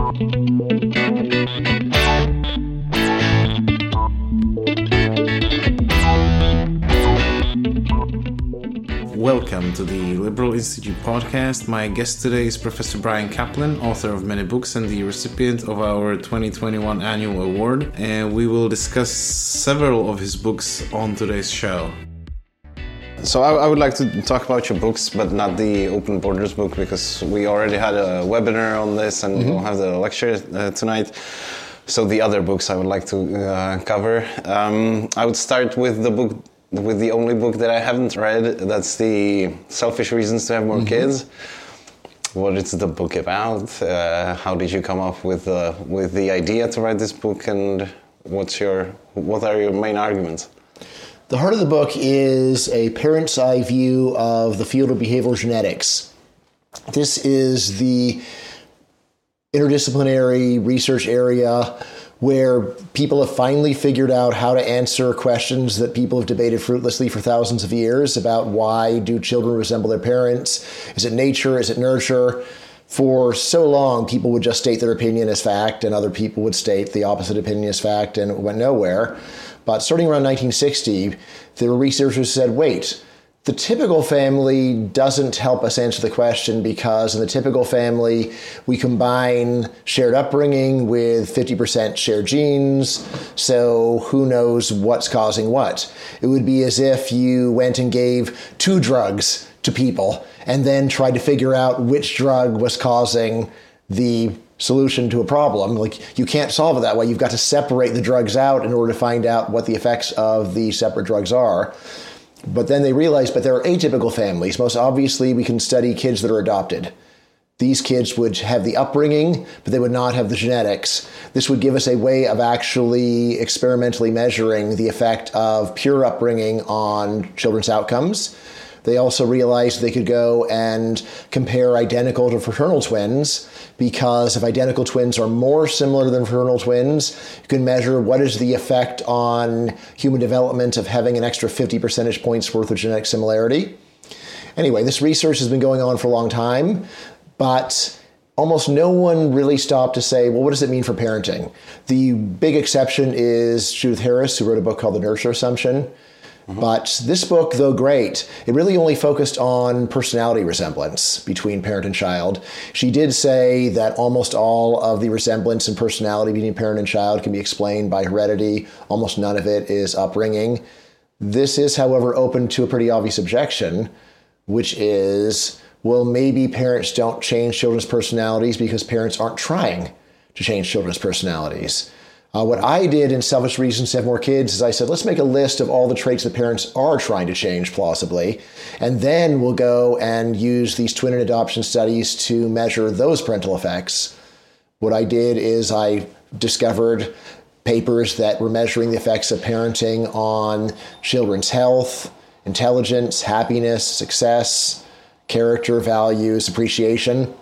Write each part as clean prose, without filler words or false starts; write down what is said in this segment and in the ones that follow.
Welcome to the Liberal Institute podcast. My guest today is Professor Bryan Caplan, author of many books and the recipient of our 2021 annual award. And we will discuss several of his books on today's show. So I would like to talk about your books, but not the Open Borders book, because we already had a webinar on this and we'll have the lecture tonight. So the other books I would like to cover. I would start with the only book that I haven't read. That's the Selfish Reasons to Have More Kids. What is the book about? How did you come up with the idea to write this book, and what are your main arguments? The heart of the book is a parent's eye view of the field of behavioral genetics. This is the interdisciplinary research area where people have finally figured out how to answer questions that people have debated fruitlessly for thousands of years about why do children resemble their parents? Is it nature? Is it nurture? For so long, people would just state their opinion as fact, and other people would state the opposite opinion as fact, and it went nowhere. But starting around 1960, there were researchers who said, wait, the typical family doesn't help us answer the question, because in the typical family, we combine shared upbringing with 50% shared genes, so who knows what's causing what. It would be as if you went and gave 2 drugs to people and then tried to figure out which drug was causing the solution to a problem. Like, you can't solve it that way. You've got to separate the drugs out in order to find out what the effects of the separate drugs are. But then they realized, but there are atypical families. Most obviously, we can study kids that are adopted. These kids would have the upbringing, but they would not have the genetics. This would give us a way of actually experimentally measuring the effect of pure upbringing on children's outcomes. They also realized they could go and compare identical to fraternal twins, because if identical twins are more similar than fraternal twins, you can measure what is the effect on human development of having an extra 50 percentage points worth of genetic similarity. Anyway, this research has been going on for a long time, but almost no one really stopped to say, well, what does it mean for parenting? The big exception is Judith Harris, who wrote a book called The Nurture Assumption. But this book, though great, it really only focused on personality resemblance between parent and child. She did say that almost all of the resemblance in personality between parent and child can be explained by heredity. Almost none of it is upbringing. This is, however, open to a pretty obvious objection, which is, well, maybe parents don't change children's personalities because parents aren't trying to change children's personalities. What I did in Selfish Reasons to Have More Kids is I said, let's make a list of all the traits that parents are trying to change plausibly, and then we'll go and use these twin and adoption studies to measure those parental effects. What I did is I discovered papers that were measuring the effects of parenting on children's health, intelligence, happiness, success, character, values, appreciation.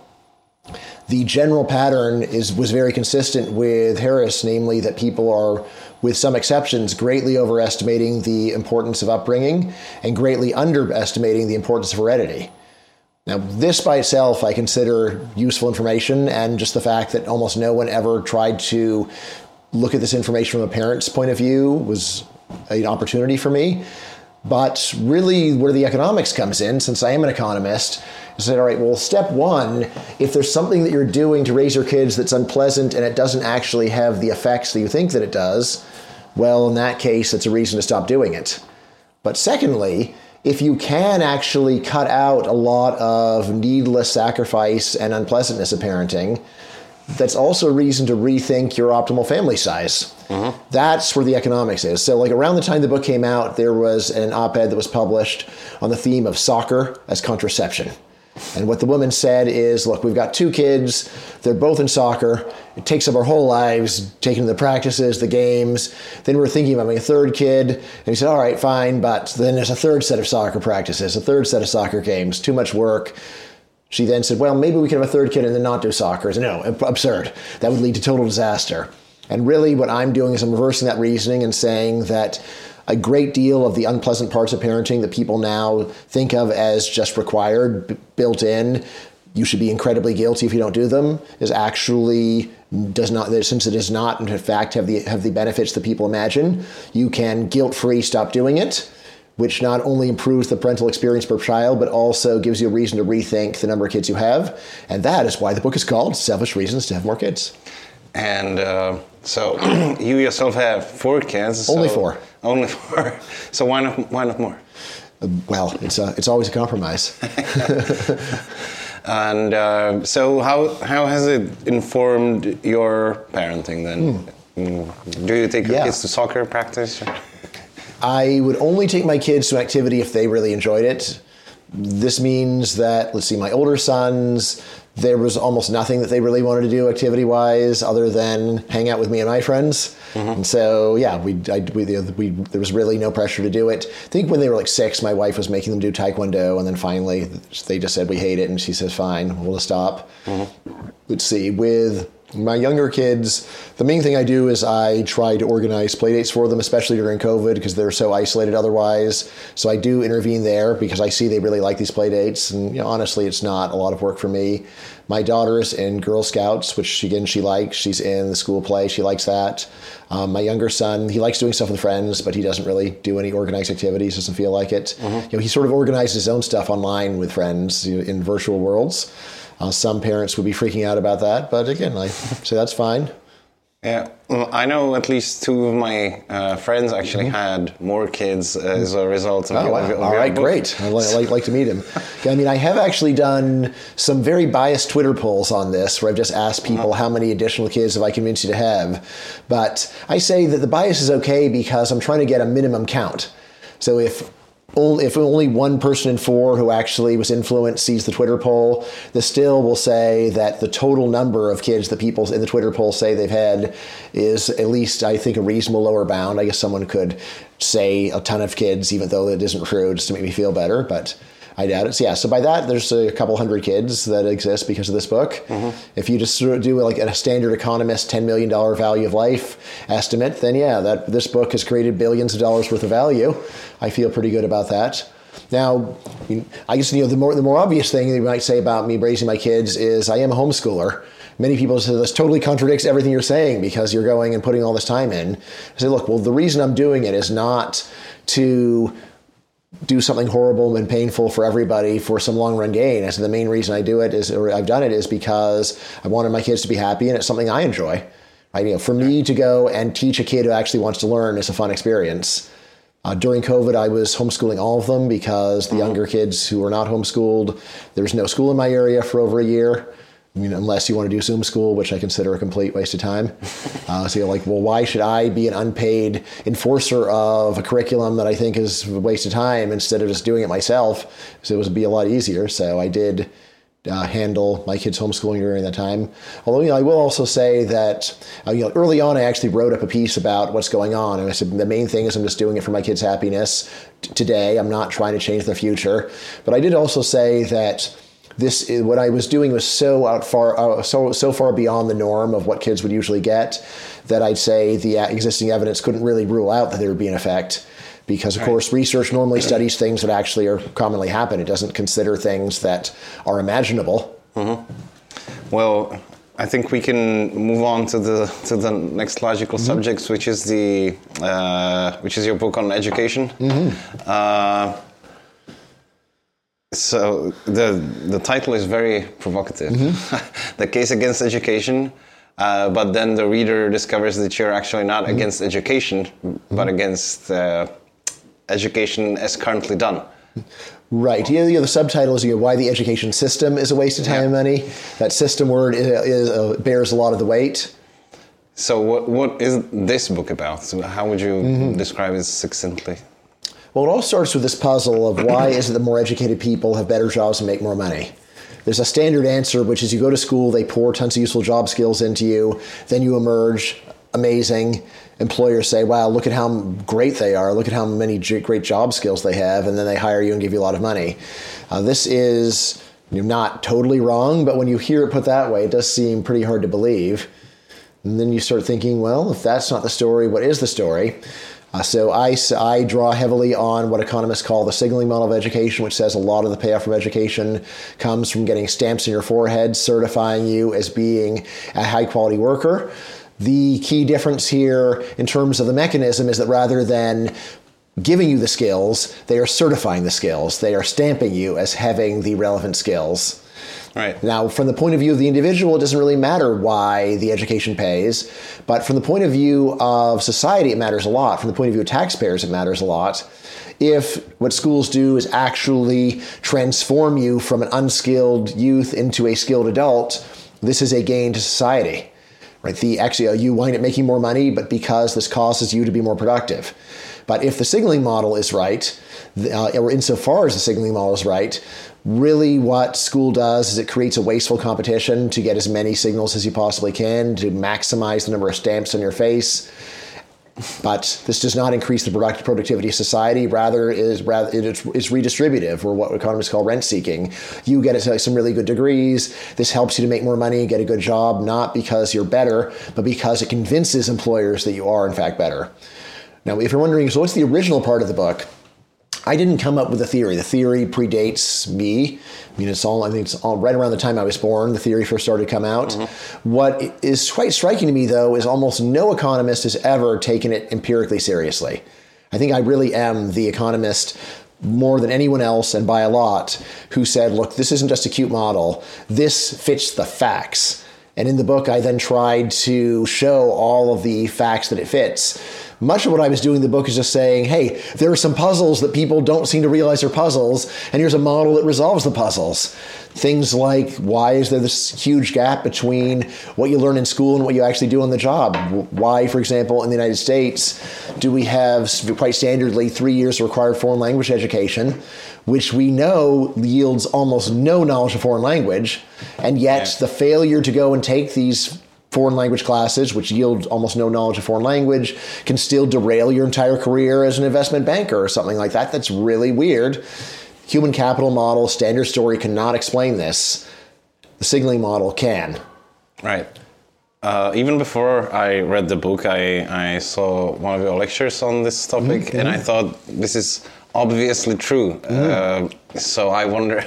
The general pattern was very consistent with Harris, namely that people are, with some exceptions, greatly overestimating the importance of upbringing and greatly underestimating the importance of heredity. Now, this by itself I consider useful information, and just the fact that almost no one ever tried to look at this information from a parent's point of view was an opportunity for me. But really where the economics comes in, since I am an economist, is that, all right, well, step one, if there's something that you're doing to raise your kids that's unpleasant and it doesn't actually have the effects that you think that it does, well, in that case, it's a reason to stop doing it. But secondly, if you can actually cut out a lot of needless sacrifice and unpleasantness of parenting, that's also a reason to rethink your optimal family size. That's where the economics is. So like around the time the book came out, there was an op-ed that was published on the theme of soccer as contraception. And what the woman said is, look, we've got 2 kids. They're both in soccer. It takes up our whole lives, taking the practices, the games. Then we're thinking of having a 3rd kid. And he said, all right, fine. But then there's a 3rd set of soccer practices, a 3rd set of soccer games, too much work. She then said, well, maybe we can have a 3rd kid and then not do soccer. I said, no, absurd. That would lead to total disaster. And really what I'm doing is I'm reversing that reasoning and saying that a great deal of the unpleasant parts of parenting that people now think of as just required, built in, you should be incredibly guilty if you don't do them, is actually does not, since it does not in fact have the benefits that people imagine, you can guilt-free stop doing it, which not only improves the parental experience per child, but also gives you a reason to rethink the number of kids you have. And that is why the book is called Selfish Reasons to Have More Kids. And so you yourself have 4 kids. Only 4. Only 4. So why not more? Well, it's always a compromise. And so how has it informed your parenting then? Do you take your kids to soccer practice? I would only take my kids to an activity if they really enjoyed it. This means that, let's see, my older sons, there was almost nothing that they really wanted to do activity-wise other than hang out with me and my friends. And so, yeah, there was really no pressure to do it. I think when they were like 6, my wife was making them do Taekwondo, and then finally they just said, we hate it, and she says, fine, we'll stop. Let's see, with my younger kids, the main thing I do is I try to organize playdates for them, especially during COVID, because they're so isolated otherwise. So I do intervene there because I see they really like these playdates. And honestly, it's not a lot of work for me. My daughter's in Girl Scouts, which again, she likes. She's in the school play. She likes that. My younger son, he likes doing stuff with friends, but he doesn't really do any organized activities, doesn't feel like it. He sort of organizes his own stuff online with friends in virtual worlds. Some parents would be freaking out about that, but again, I say that's fine. Yeah, well, I know at least 2 of my friends actually had more kids as a result of your All right, book. Great. I'd like to meet him. I mean, I have actually done some very biased Twitter polls on this, where I've just asked people how many additional kids have I convinced you to have. But I say that the bias is okay because I'm trying to get a minimum count. So if only 1 person in 4 who actually was influenced sees the Twitter poll, this still will say that the total number of kids that people in the Twitter poll say they've had is at least, I think, a reasonable lower bound. I guess someone could say a ton of kids, even though it isn't true, just to make me feel better, but I doubt it. So yeah, so by that, there's a couple hundred kids that exist because of this book. If you just sort of do like a standard economist $10 million value of life estimate, then yeah, this book has created billions of dollars worth of value. I feel pretty good about that. Now, I guess the more obvious thing you might say about me raising my kids is I am a homeschooler. Many people say this totally contradicts everything you're saying because you're going and putting all this time in. I say, look, well, the reason I'm doing it is not to do something horrible and painful for everybody for some long run gain. And so the main reason I do it is, or I've done it, is because I wanted my kids to be happy, and it's something I enjoy. Right? For me to go and teach a kid who actually wants to learn is a fun experience. During COVID, I was homeschooling all of them because the younger kids who were not homeschooled, there was no school in my area for over a year. I mean, unless you want to do Zoom school, which I consider a complete waste of time. So you're like, well, why should I be an unpaid enforcer of a curriculum that I think is a waste of time instead of just doing it myself? So it would be a lot easier. So I did handle my kids' homeschooling during that time. Although, I will also say that early on, I actually wrote up a piece about what's going on. And I said, the main thing is I'm just doing it for my kids' happiness today. I'm not trying to change their future. But I did also say that what I was doing was so far beyond the norm of what kids would usually get that I'd say the existing evidence couldn't really rule out that there would be an effect. Because, of course, research normally studies things that actually are commonly happen. It doesn't consider things that are imaginable. Well, I think we can move on to the next logical subject, which is your book on education. So the title is very provocative. The Case Against Education. But then the reader discovers that you're actually not against education, but against education as currently done. Right. The subtitle is why the education system is a waste of time and money. That system word bears a lot of the weight. So what is this book about? So how would you describe it succinctly? Well, it all starts with this puzzle of why is it that more educated people have better jobs and make more money? There's a standard answer, which is you go to school, they pour tons of useful job skills into you, then you emerge amazing. Employers say, wow, look at how great they are. Look at how many great job skills they have. And then they hire you and give you a lot of money. This is not totally wrong, but when you hear it put that way, it does seem pretty hard to believe. And then you start thinking, well, if that's not the story, what is the story? So I draw heavily on what economists call the signaling model of education, which says a lot of the payoff from education comes from getting stamps in your forehead, certifying you as being a high-quality worker. The key difference here in terms of the mechanism is that rather than giving you the skills, they are certifying the skills. They are stamping you as having the relevant skills. Right. Now, from the point of view of the individual, it doesn't really matter why the education pays, but from the point of view of society, it matters a lot. From the point of view of taxpayers, it matters a lot. If what schools do is actually transform you from an unskilled youth into a skilled adult, this is a gain to society. Right? You wind up making more money, but because this causes you to be more productive. But if the signaling model is right, or insofar as the signaling model is right, really what school does is it creates a wasteful competition to get as many signals as you possibly can to maximize the number of stamps on your face. But this does not increase the productivity of society. Rather, it's redistributive, or what economists call rent seeking. You get some really good degrees. This helps you to make more money, get a good job, not because you're better, but because it convinces employers that you are, in fact, better. Now, if you're wondering, so what's the original part of the book? I didn't come up with a theory. The theory predates me. I think it's all right around the time I was born. The theory first started to come out. Mm-hmm. What is quite striking to me, though, is almost no economist has ever taken it empirically seriously. I think I really am the economist more than anyone else, and by a lot, who said, look, this isn't just a cute model. This fits the facts. And in the book, I then tried to show all of the facts that it fits. Much of what I was doing in the book is just saying, hey, there are some puzzles that people don't seem to realize are puzzles, and here's a model that resolves the puzzles. Things like, why is there this huge gap between what you learn in school and what you actually do on the job? Why, for example, in the United States, do we have quite standardly 3 years of required foreign language education, which we know yields almost no knowledge of foreign language, and yet the failure to go and take these foreign language classes, which yield almost no knowledge of foreign language, can still derail your entire career as an investment banker or something like that. That's really weird. Human capital model, standard story cannot explain this. The signaling model can. Right. Even before I read the book, I saw one of your lectures on this topic, mm-hmm. and I thought this is obviously true. Mm-hmm. So I wonder,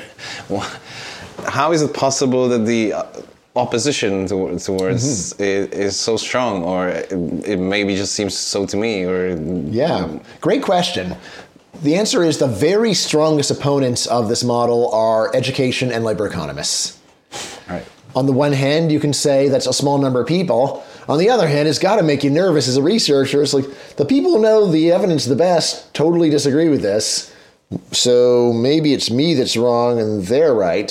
how is it possible that the opposition towards mm-hmm. is so strong, or it maybe just seems so to me? Or great question. The answer is the very strongest opponents of this model are education and labor economists. Right. On the one hand, you can say that's a small number of people. On the other hand, it's got to make you nervous as a researcher. It's like the people who know the evidence the best totally disagree with this. So maybe it's me that's wrong and they're right.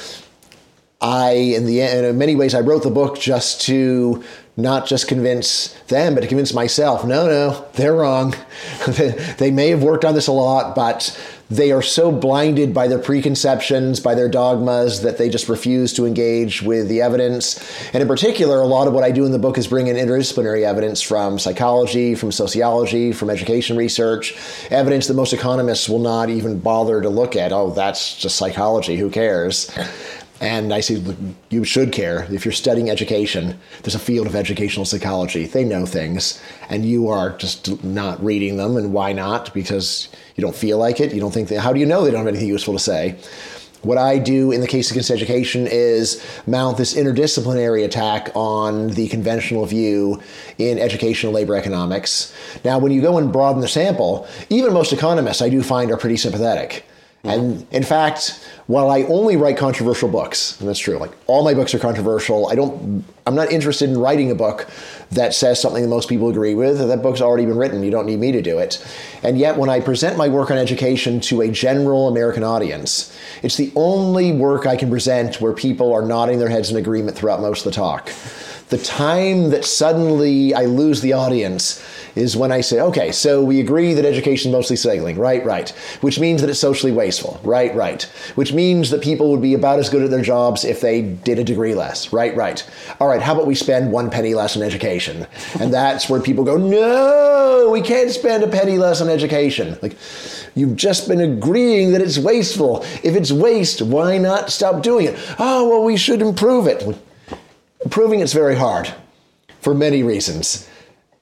In many ways, I wrote the book just to not just convince them, but to convince myself. No, they're wrong. They may have worked on this a lot, but they are so blinded by their preconceptions, by their dogmas, that they just refuse to engage with the evidence. And in particular, a lot of what I do in the book is bring in interdisciplinary evidence from psychology, from sociology, from education research, evidence that most economists will not even bother to look at. Oh, that's just psychology. Who cares? And I say, you should care. If you're studying education, there's a field of educational psychology. They know things, and you are just not reading them. And why not? Because you don't feel like it. You don't think how do you know they don't have anything useful to say? What I do in the case against education is mount this interdisciplinary attack on the conventional view in educational labor economics. Now, when you go and broaden the sample, even most economists I do find are pretty sympathetic. And in fact, while I only write controversial books, and that's true, like all my books are controversial, I'm not interested in writing a book that says something that most people agree with. That book's already been written. You don't need me to do it. And yet when I present my work on education to a general American audience, it's the only work I can present where people are nodding their heads in agreement throughout most of the talk. The time that suddenly I lose the audience is when I say, okay, so we agree that education is mostly signaling, right, which means that it's socially wasteful, right, which means that people would be about as good at their jobs if they did a degree less, right. All right, how about we spend 1 penny less on education? And that's where people go, no, we can't spend a penny less on education. Like, you've just been agreeing that it's wasteful. If it's waste, why not stop doing it? Oh, well, we should improve it. Improving it's very hard for many reasons.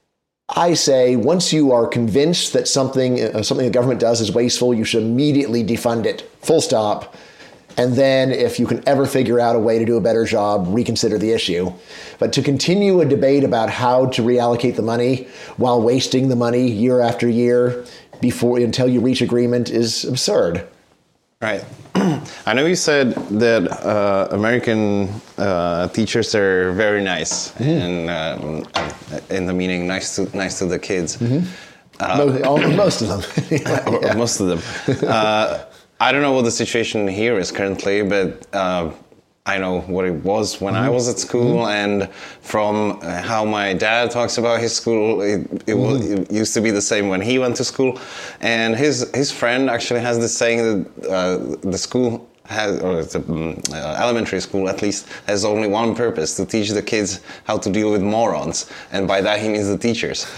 I say once you are convinced that something the government does is wasteful, you should immediately defund it, full stop. And then if you can ever figure out a way to do a better job, reconsider the issue. But to continue a debate about how to reallocate the money while wasting the money year after year until you reach agreement is absurd. Right. I know you said that American teachers are very nice, and in the meaning nice to the kids. Most of them. Yeah. Most of them. I don't know what the situation here is currently, but I know what it was when I was at school, and from how my dad talks about his school, it used to be the same when he went to school. And his friend actually has this saying that the school has, or the elementary school at least, has only one purpose: to teach the kids how to deal with morons. And by that he means the teachers.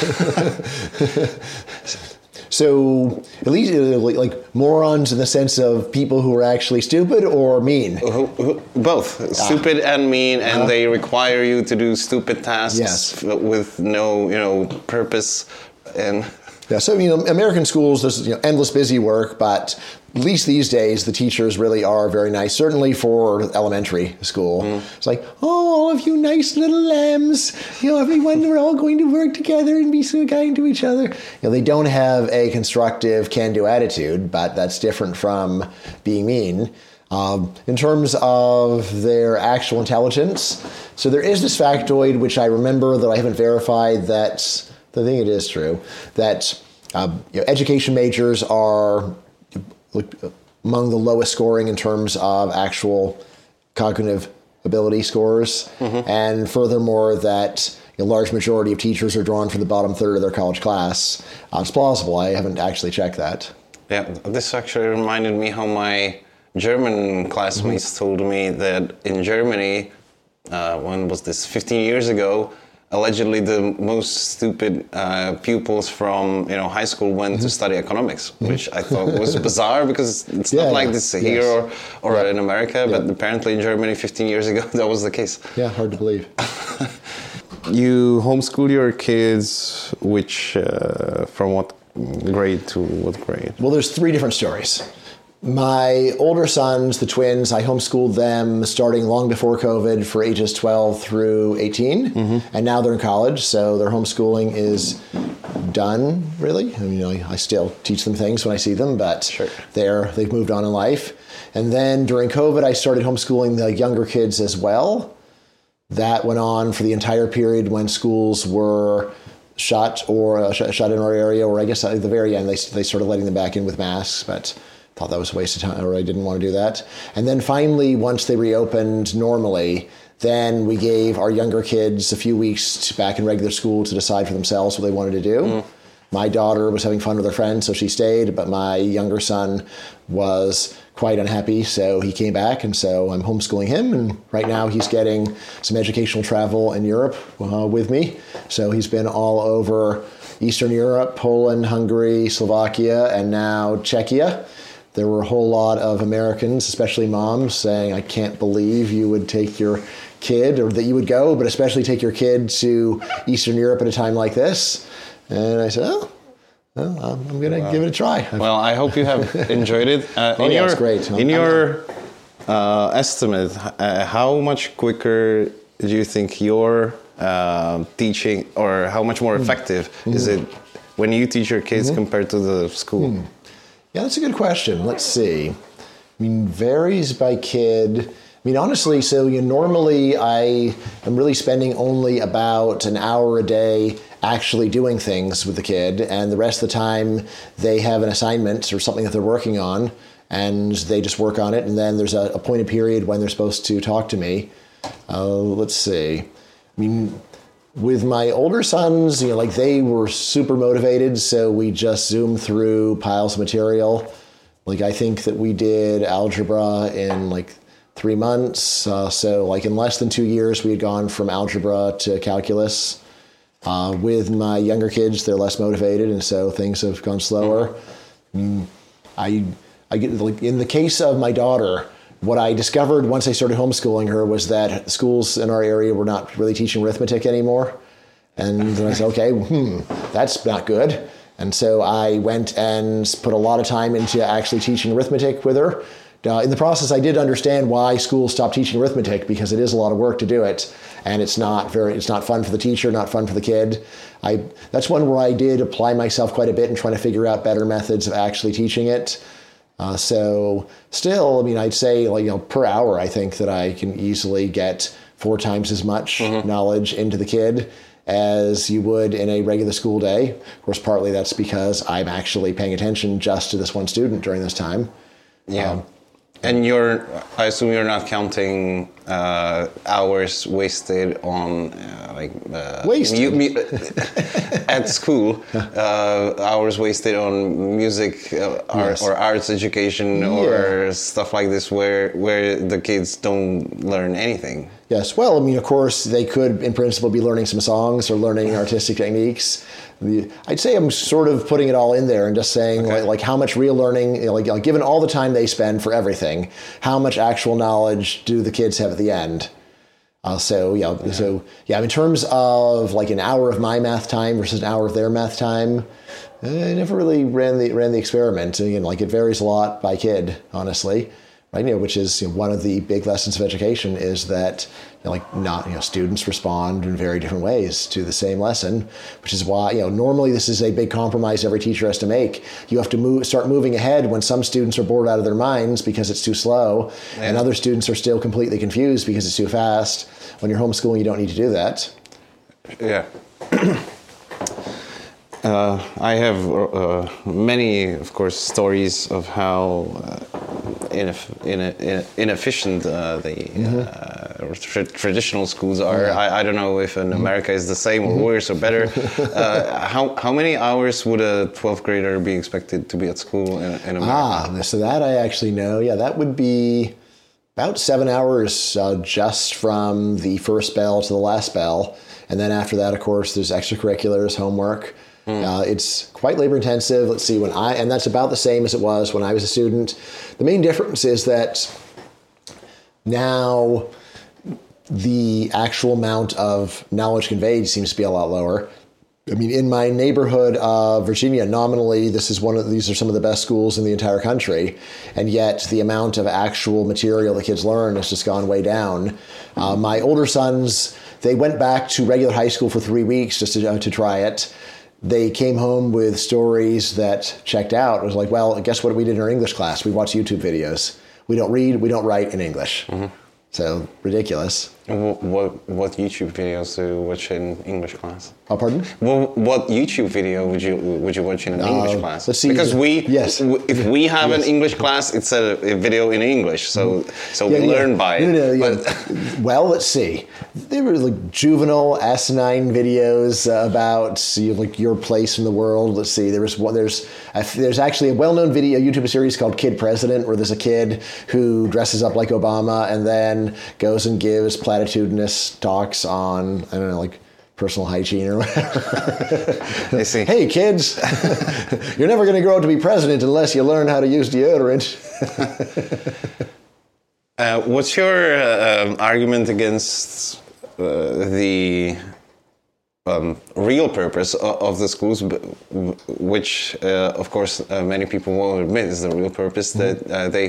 So, at least like morons in the sense of people who are actually stupid or mean? Both. Stupid and mean, and they require you to do stupid tasks with no, purpose. And yeah, so, American schools, there's endless busy work, but at least these days, the teachers really are very nice, certainly for elementary school. It's like, all of you nice little lambs, everyone, we're all going to work together and be so kind to each other. They don't have a constructive can-do attitude, but that's different from being mean. In terms of their actual intelligence, so there is this factoid, which I remember, though I haven't verified, that I think it is true, that education majors are among the lowest scoring in terms of actual cognitive ability scores. And furthermore, that a large majority of teachers are drawn from the bottom third of their college class. It's plausible. I haven't actually checked that. Yeah, this actually reminded me how my German classmates told me that in Germany, when was this, 15 years ago, allegedly the most stupid pupils from high school went to study economics, which I thought was bizarre because it's not like this here or in America, but apparently in Germany 15 years ago that was the case. Yeah, hard to believe. You homeschool your kids, which from what grade to what grade? Well, there's 3 different stories. My older sons, the twins, I homeschooled them starting long before COVID for ages 12 through 18. And now they're in college, so their homeschooling is done, really. I still teach them things when I see them, but they've moved on in life. And then during COVID, I started homeschooling the younger kids as well. That went on for the entire period when schools were shut in our area, or I guess at the very end, they started letting them back in with masks, but thought that was a waste of time, or I didn't want to do that. And then finally, once they reopened normally, then we gave our younger kids a few weeks back in regular school to decide for themselves what they wanted to do. My daughter was having fun with her friends, so she stayed, but my younger son was quite unhappy, so he came back, and so I'm homeschooling him, and right now he's getting some educational travel in Europe with me. So he's been all over Eastern Europe, Poland, Hungary, Slovakia, and now Czechia. There were a whole lot of Americans, especially moms, saying, I can't believe you would take your kid, or that you would go, but especially take your kid to Eastern Europe at a time like this. And I said, I'm going to give it a try. Well, I hope you have enjoyed it. It's great. In your estimate, how much quicker do you think your teaching, or how much more effective is it when you teach your kids compared to the school? Yeah, that's a good question. Let's see. Varies by kid. Honestly, so normally I am really spending only about an hour a day actually doing things with the kid, and the rest of the time they have an assignment or something that they're working on, and they just work on it, and then there's a appointed period when they're supposed to talk to me. Let's see. With my older sons, they were super motivated, so we just zoomed through piles of material. I think that we did algebra in 3 months. So in less than 2 years, we had gone from algebra to calculus. With my younger kids, they're less motivated, and so things have gone slower. I get in the case of my daughter, what I discovered once I started homeschooling her was that schools in our area were not really teaching arithmetic anymore. And then I said, okay, that's not good. And so I went and put a lot of time into actually teaching arithmetic with her. In the process, I did understand why schools stopped teaching arithmetic, because it is a lot of work to do it, and it's not fun for the teacher, not fun for the kid. That's one where I did apply myself quite a bit in trying to figure out better methods of actually teaching it. So still, I mean, I'd say per hour, I think that I can easily get 4 times as much knowledge into the kid as you would in a regular school day. Of course, partly that's because I'm actually paying attention just to this one student during this time. Yeah. And I assume you're not counting hours wasted on at school, hours wasted on music or arts education or stuff like this, where the kids don't learn anything. Yes, well, I mean, of course, they could, in principle, be learning some songs or learning artistic techniques. I'd say I'm sort of putting it all in there and just saying, like how much real learning, given all the time they spend for everything, how much actual knowledge do the kids have at the end? So in terms of like an hour of my math time versus an hour of their math time, I never really ran the experiment. Again, it varies a lot by kid, honestly. Right, which is one of the big lessons of education is that students respond in very different ways to the same lesson, which is why normally this is a big compromise every teacher has to make. You have to start moving ahead when some students are bored out of their minds because it's too slow, and other students are still completely confused because it's too fast. When you're homeschooling, you don't need to do that. Yeah. I have many, of course, stories of how inefficient the traditional schools are. I don't know if in America is the same or worse or better. How many hours would a 12th grader be expected to be at school in America? So that I actually know. Yeah, that would be about 7 hours just from the first bell to the last bell. And then after that, of course, there's extracurriculars, homework. It's quite labor intensive. Let's see, and that's about the same as it was when I was a student. The main difference is that now the actual amount of knowledge conveyed seems to be a lot lower. I mean, in my neighborhood of Virginia, nominally, these are some of the best schools in the entire country, and yet the amount of actual material the kids learn has just gone way down. My older sons, they went back to regular high school for 3 weeks just to try it. They came home with stories that checked out. It was like, well, guess what we did in our English class? We watched YouTube videos. We don't read, we don't write in English. So, ridiculous. What YouTube videos do you watch in English class? Oh, pardon? Well, what YouTube video would you watch in an English class? Let's see. Because if we have an English class, it's a video in English, so we learn by it. Well, let's see. There were juvenile, asinine videos about your place in the world. Let's see. There's actually a well-known YouTube series called Kid President, where there's a kid who dresses up like Obama and then goes and gives platitudinous talks on, I don't know, personal hygiene or whatever. I see. Hey, kids, you're never going to grow up to be president unless you learn how to use deodorant. What's your argument against the real purpose of the schools, which, of course, many people won't admit is the real purpose, that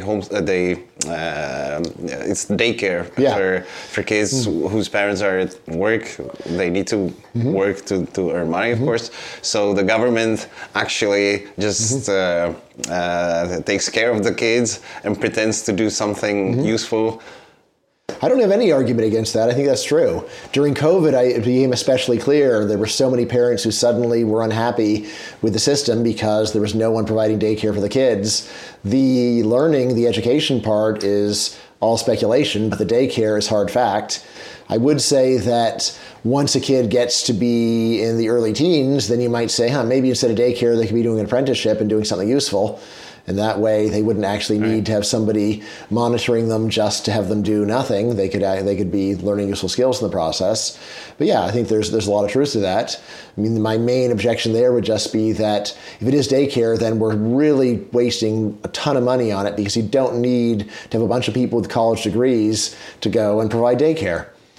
it's daycare for kids whose parents are at work. They need to work to earn money, of course. So the government actually just takes care of the kids and pretends to do something useful. I don't have any argument against that. I think that's true. During COVID, it became especially clear there were so many parents who suddenly were unhappy with the system because there was no one providing daycare for the kids. The education part is all speculation, but the daycare is hard fact. I would say that once a kid gets to be in the early teens, then you might say, maybe instead of daycare, they could be doing an apprenticeship and doing something useful. And that way, they wouldn't actually need to have somebody monitoring them just to have them do nothing. They could be learning useful skills in the process. But yeah, I think there's a lot of truth to that. I mean, my main objection there would just be that if it is daycare, then we're really wasting a ton of money on it because you don't need to have a bunch of people with college degrees to go and provide daycare.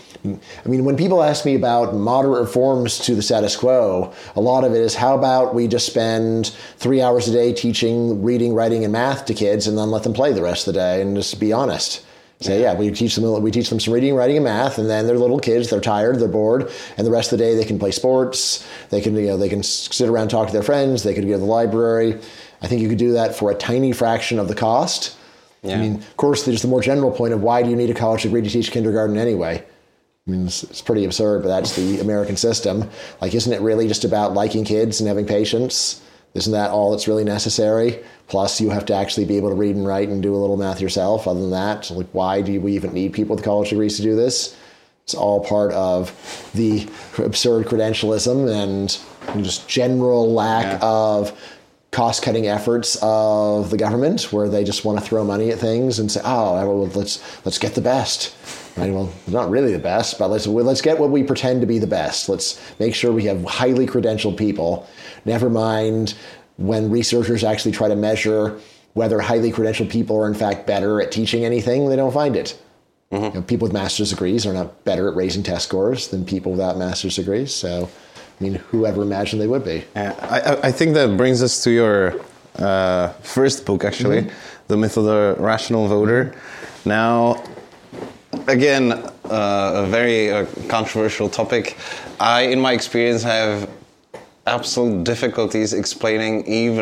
I mean, when people ask me about moderate reforms to the status quo, a lot of it is, how about we just spend 3 hours a day teaching reading, writing, and math to kids, and then let them play the rest of the day, and just be honest. Say, yeah, we teach them some reading, writing, and math, and then they're little kids, they're tired, they're bored, and the rest of the day they can play sports, they can sit around and talk to their friends, they could go to the library. I think you could do that for a tiny fraction of the cost. Yeah. I mean, of course, there's the more general point of, why do you need a college degree to teach kindergarten anyway? I mean, it's pretty absurd, but that's the American system. Like, isn't it really just about liking kids and having patience? Isn't that all that's really necessary? Plus, you have to actually be able to read and write and do a little math yourself. Other than that, like, why do we even need people with college degrees to do this? It's all part of the absurd credentialism and just general lack of cost-cutting efforts of the government, where they just want to throw money at things and say, "Oh, well, let's get the best." Right? Well, not really the best, but let's get what we pretend to be the best. Let's make sure we have highly credentialed people. Never mind when researchers actually try to measure whether highly credentialed people are in fact better at teaching anything, they don't find it. Mm-hmm. You know, people with master's degrees are not better at raising test scores than people without master's degrees. So, I mean, whoever imagined they would be. I think that brings us to your first book, actually, The Myth of the Rational Voter. Now, again, a very controversial topic. In my experience, have absolute difficulties explaining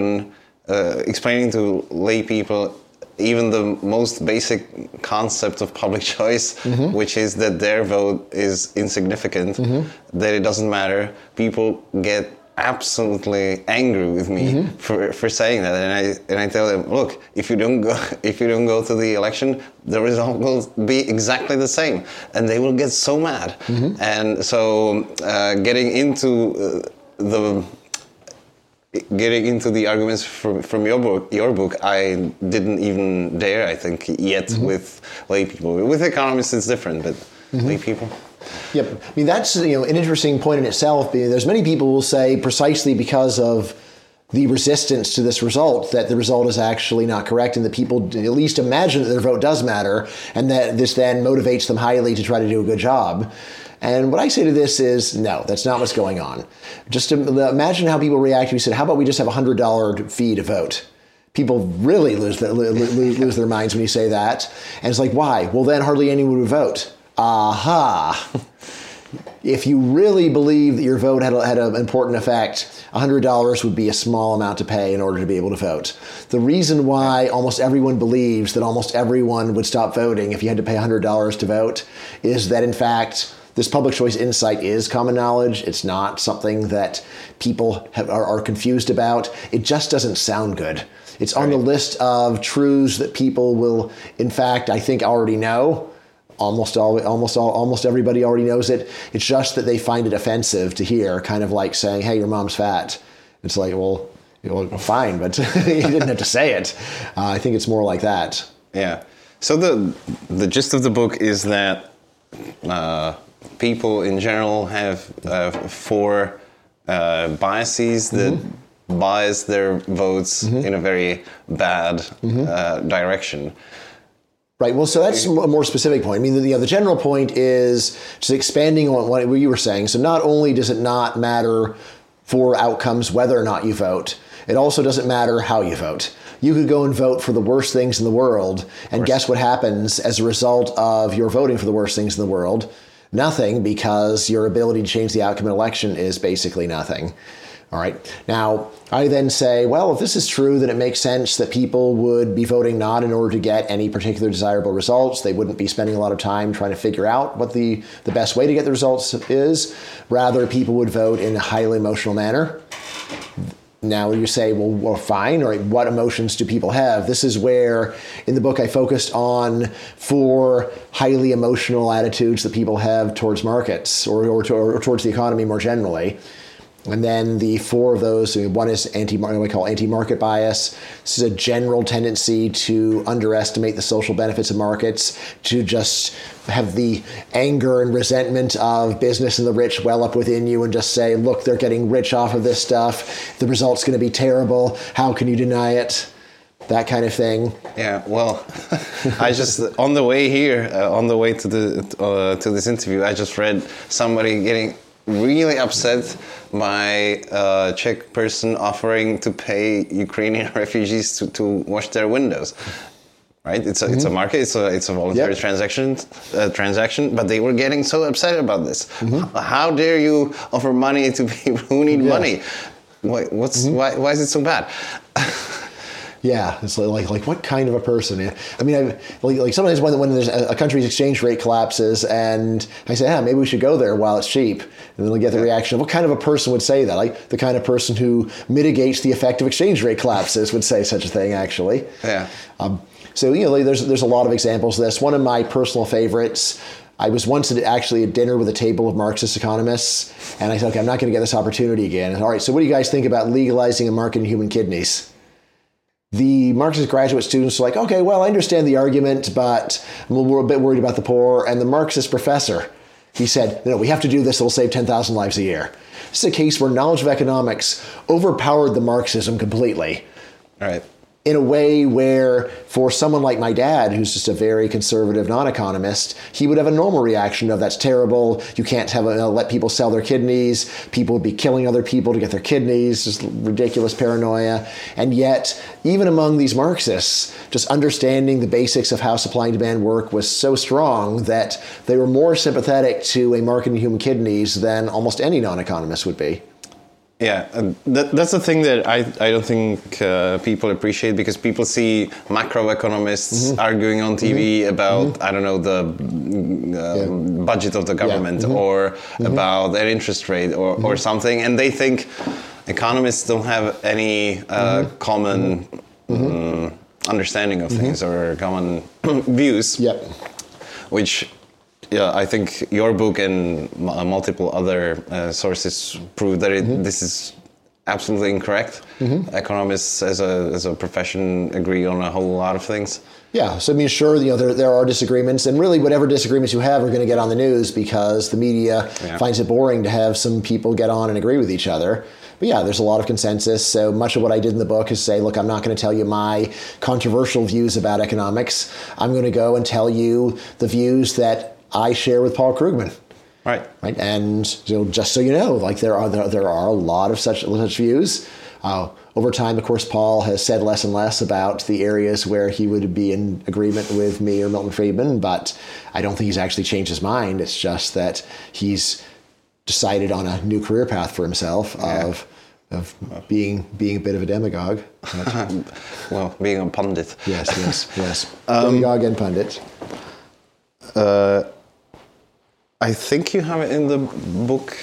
to lay people even the most basic concept of public choice, which is that their vote is insignificant, that it doesn't matter. People get absolutely angry with me for saying that, and I tell them, look, if you don't go to the election, the result will be exactly the same, and they will get so mad. And so getting into the arguments from your book, I didn't even dare, I think, yet with lay people. With economists, it's different, but lay people. Yep. I mean, that's an interesting point in itself. There's many people who will say, precisely because of the resistance to this result, that the result is actually not correct, and that people at least imagine that their vote does matter, and that this then motivates them highly to try to do a good job. And what I say to this is, no, that's not what's going on. Just imagine how people react if you said, how about we just have a $100 fee to vote? People really lose their minds when you say that. And it's like, why? Well, then hardly anyone would vote. Aha. If you really believe that your vote had an important effect, $100 would be a small amount to pay in order to be able to vote. The reason why almost everyone believes that almost everyone would stop voting if you had to pay $100 to vote is that, in fact, this public choice insight is common knowledge. It's not something that people are confused about. It just doesn't sound good. It's on the list of truths that people will, in fact, I think already know. Almost everybody already knows it. It's just that they find it offensive to hear, kind of like saying, "Hey, your mom's fat." It's like, well, fine, but you didn't have to say it. I think it's more like that. Yeah. So the gist of the book is that people in general have four biases that bias their votes in a very bad direction. Right. Well, so that's a more specific point. I mean, the general point is just expanding on what you were saying. So not only does it not matter for outcomes whether or not you vote, it also doesn't matter how you vote. You could go and vote for the worst things in the world, and guess what happens as a result of your voting for the worst things in the world? Nothing, because your ability to change the outcome of an election is basically nothing. All right. Now, I then say, well, if this is true, then it makes sense that people would be voting not in order to get any particular desirable results. They wouldn't be spending a lot of time trying to figure out what the best way to get the results is. Rather, people would vote in a highly emotional manner. Now you say, well, fine. All right, what emotions do people have? This is where, in the book, I focused on 4 highly emotional attitudes that people have towards markets or towards the economy more generally. And then the 4 of those, one is what we call anti-market bias. This is a general tendency to underestimate the social benefits of markets, to just have the anger and resentment of business and the rich well up within you and just say, look, they're getting rich off of this stuff. The result's going to be terrible. How can you deny it? that kind of thing. Yeah, well, I just on the way here, on the way to this interview, I just read somebody getting really upset by a Czech person offering to pay Ukrainian refugees to wash their windows. Right, it's a market, it's a voluntary transaction, but they were getting so upset about this. How dare you offer money to people who need money? Why is it so bad? Yeah, it's like what kind of a person? I mean, like sometimes when there's a country's exchange rate collapses, and I say, maybe we should go there while it's cheap, and then we get the reaction of what kind of a person would say that? Like the kind of person who mitigates the effect of exchange rate collapses would say such a thing. Actually, yeah. So there's a lot of examples of this. One of my personal favorites. I was once actually at dinner with a table of Marxist economists, and I said, okay, I'm not going to get this opportunity again. And, all right, so what do you guys think about legalizing a market in human kidneys? The Marxist graduate students are like, okay, well, I understand the argument, but we're a bit worried about the poor. And the Marxist professor, he said, no, we have to do this. It'll save 10,000 lives a year. This is a case where knowledge of economics overpowered the Marxism completely. All right. In a way where, for someone like my dad, who's just a very conservative non-economist, he would have a normal reaction of, that's terrible, you can't let people sell their kidneys, people would be killing other people to get their kidneys, just ridiculous paranoia. And yet, even among these Marxists, just understanding the basics of how supply and demand work was so strong that they were more sympathetic to a market in human kidneys than almost any non-economist would be. Yeah, that's the thing that I don't think people appreciate, because people see macroeconomists arguing on TV about, I don't know, the budget of the government or about their interest rate or something, and they think economists don't have any common understanding of things or common views, which... Yeah, I think your book and multiple other sources prove that this is absolutely incorrect. Economists, as a profession, agree on a whole lot of things. Yeah, so I mean, sure, there are disagreements, and really whatever disagreements you have are going to get on the news because the media finds it boring to have some people get on and agree with each other. But yeah, there's a lot of consensus. So much of what I did in the book is say, look, I'm not going to tell you my controversial views about economics. I'm going to go and tell you the views that I share with Paul Krugman. Right. And just so you know, like there are a lot of such views. Over time, of course, Paul has said less and less about the areas where he would be in agreement with me or Milton Friedman, but I don't think he's actually changed his mind. It's just that he's decided on a new career path for himself of being a bit of a demagogue. Well, being a pundit. Yes. Demagogue and pundit. I think you have it in the book,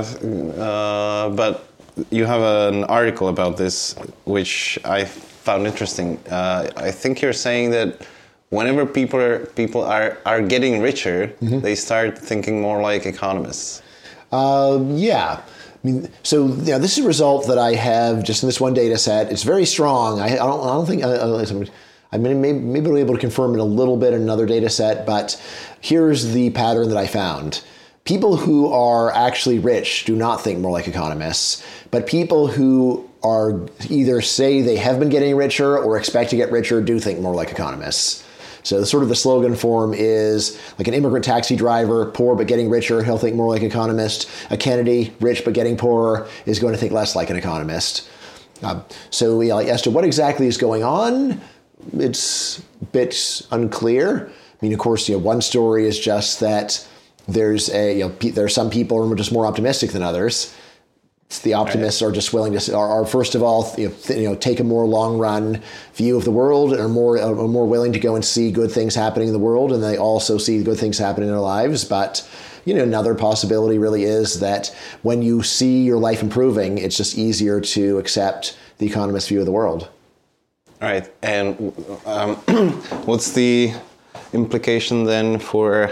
but you have an article about this, which I found interesting. I think you're saying that whenever people are getting richer, they start thinking more like economists. Yeah. I mean, so this is a result that I have just in this one data set. It's very strong. I don't think I maybe we'll be able to confirm it a little bit in another data set, but here's the pattern that I found. People who are actually rich do not think more like economists, but people who are either say they have been getting richer or expect to get richer do think more like economists. So sort of the slogan form is like an immigrant taxi driver, poor but getting richer, he'll think more like economist. A Kennedy, rich but getting poorer, is going to think less like an economist. So as to what exactly is going on, it's a bit unclear. I mean, of course, one story is just that there's some people who are just more optimistic than others. The optimists are just willing to are first of all take a more long run view of the world and are more willing to go and see good things happening in the world, and they also see good things happening in their lives. But another possibility really is that when you see your life improving, it's just easier to accept the economist's view of the world. All right, and what's the implication then for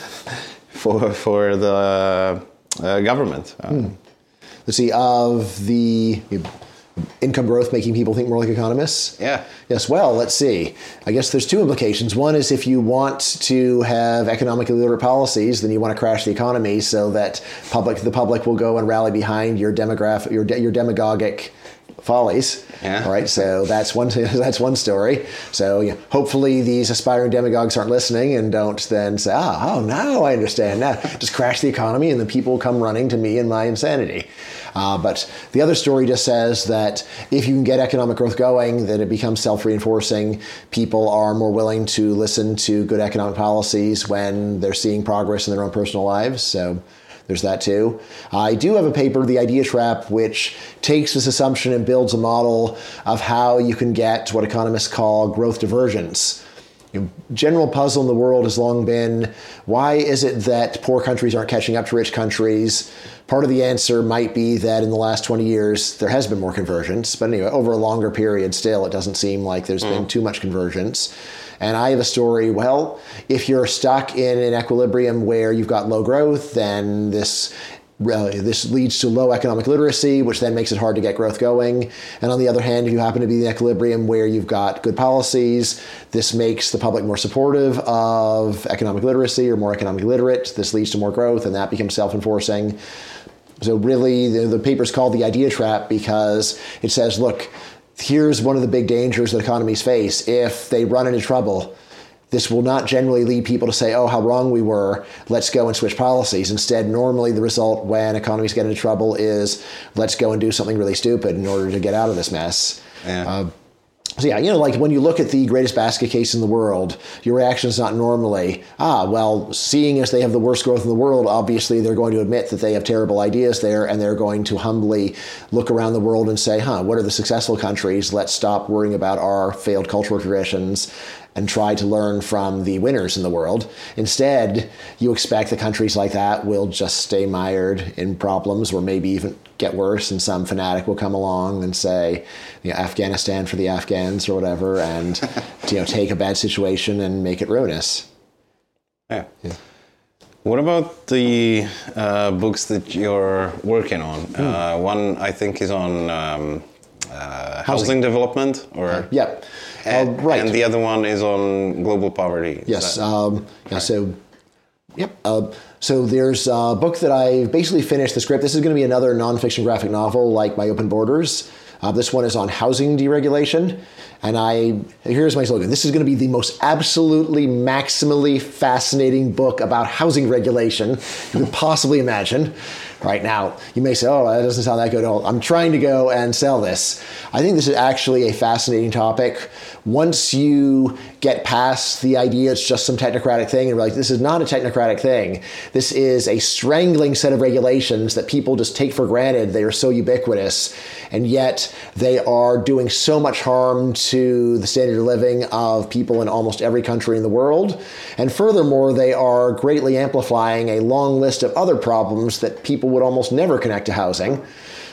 the government? Let's see, of the income growth making people think more like economists? Yeah. Yes, well, let's see. I guess there's two implications. One is if you want to have economically literate policies, then you want to crash the economy so that the public will go and rally behind your demagogic follies. Yeah. All right, so that's one story. So hopefully these aspiring demagogues aren't listening and don't then say, now I understand. Now just crash the economy and the people come running to me and my insanity. But the other story just says that if you can get economic growth going, then it becomes self-reinforcing. People are more willing to listen to good economic policies when they're seeing progress in their own personal lives. So there's that too. I do have a paper, The Idea Trap, which takes this assumption and builds a model of how you can get what economists call growth divergence. General puzzle in the world has long been, why is it that poor countries aren't catching up to rich countries? Part of the answer might be that in the last 20 years, there has been more convergence. But anyway, over a longer period still, it doesn't seem like there's been too much convergence. And I have a story, well, if you're stuck in an equilibrium where you've got low growth, then this leads to low economic literacy, which then makes it hard to get growth going. And on the other hand, if you happen to be in an equilibrium where you've got good policies, this makes the public more supportive of economic literacy or more economically literate. This leads to more growth, and that becomes self-enforcing. So really, the paper's called The Idea Trap because it says, look, here's one of the big dangers that economies face. If they run into trouble, this will not generally lead people to say, oh, how wrong we were, let's go and switch policies. Instead, normally the result when economies get into trouble is, let's go and do something really stupid in order to get out of this mess. Yeah. So like when you look at the greatest basket case in the world, your reaction is not normally, seeing as they have the worst growth in the world, obviously they're going to admit that they have terrible ideas there, and they're going to humbly look around the world and say, what are the successful countries? Let's stop worrying about our failed cultural traditions and try to learn from the winners in the world. Instead, you expect that countries like that will just stay mired in problems or maybe even get worse, and some fanatic will come along and say, Afghanistan for the Afghans or whatever, and take a bad situation and make it ruinous. Yeah. What about the books that you're working on? One, I think, is on housing development, or Yep. Right. And the other one is on global poverty. Yes. So there's a book that I basically finished the script. This is going to be another nonfiction graphic novel like my Open Borders. This one is on housing deregulation. And here's my slogan. This is going to be the most absolutely, maximally fascinating book about housing regulation you could possibly imagine. Right now, you may say, that doesn't sound that good at all. I'm trying to go and sell this. I think this is actually a fascinating topic. Once you get past the idea it's just some technocratic thing, and realize this is not a technocratic thing. This is a strangling set of regulations that people just take for granted. They are so ubiquitous, and yet they are doing so much harm to the standard of living of people in almost every country in the world. And furthermore, they are greatly amplifying a long list of other problems that people would almost never connect to housing.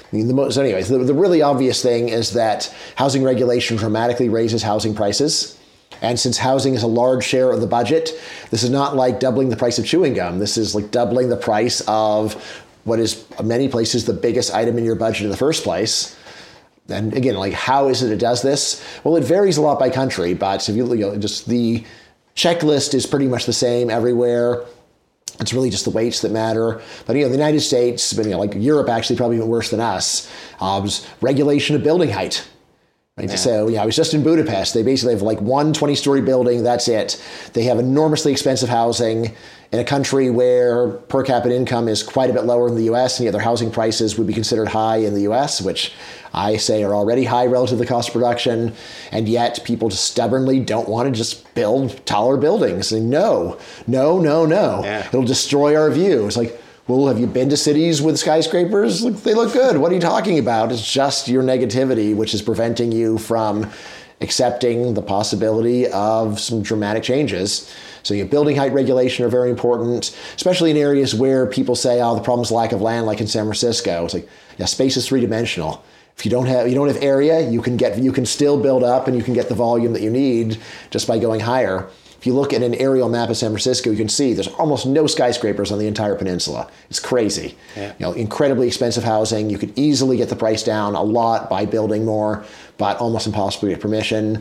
The really obvious thing is that housing regulation dramatically raises housing prices. And since housing is a large share of the budget, this is not like doubling the price of chewing gum. This is like doubling the price of what is, in many places, the biggest item in your budget in the first place. And again, how is it does this? Well, it varies a lot by country, but if just the checklist is pretty much the same everywhere. It's really just the weights that matter. But, the United States, Europe actually probably even worse than us, regulation of building height. Right? Yeah. So, I was just in Budapest. They basically have one 20-story building. That's it. They have enormously expensive housing in a country where per capita income is quite a bit lower than the U.S., and yet their housing prices would be considered high in the U.S., which I say are already high relative to the cost of production, and yet people just stubbornly don't want to just build taller buildings. And no. Yeah. It'll destroy our view. It's well, have you been to cities with skyscrapers? They look good. What are you talking about? It's just your negativity, which is preventing you from accepting the possibility of some dramatic changes. So building height regulation are very important, especially in areas where people say, the problem's lack of land, like in San Francisco. It's space is three-dimensional. If you don't have area, you can still build up, and you can get the volume that you need just by going higher. If you look at an aerial map of San Francisco, you can see there's almost no skyscrapers on the entire peninsula. It's crazy. Yeah. Incredibly expensive housing. You could easily get the price down a lot by building more, but almost impossible to get permission.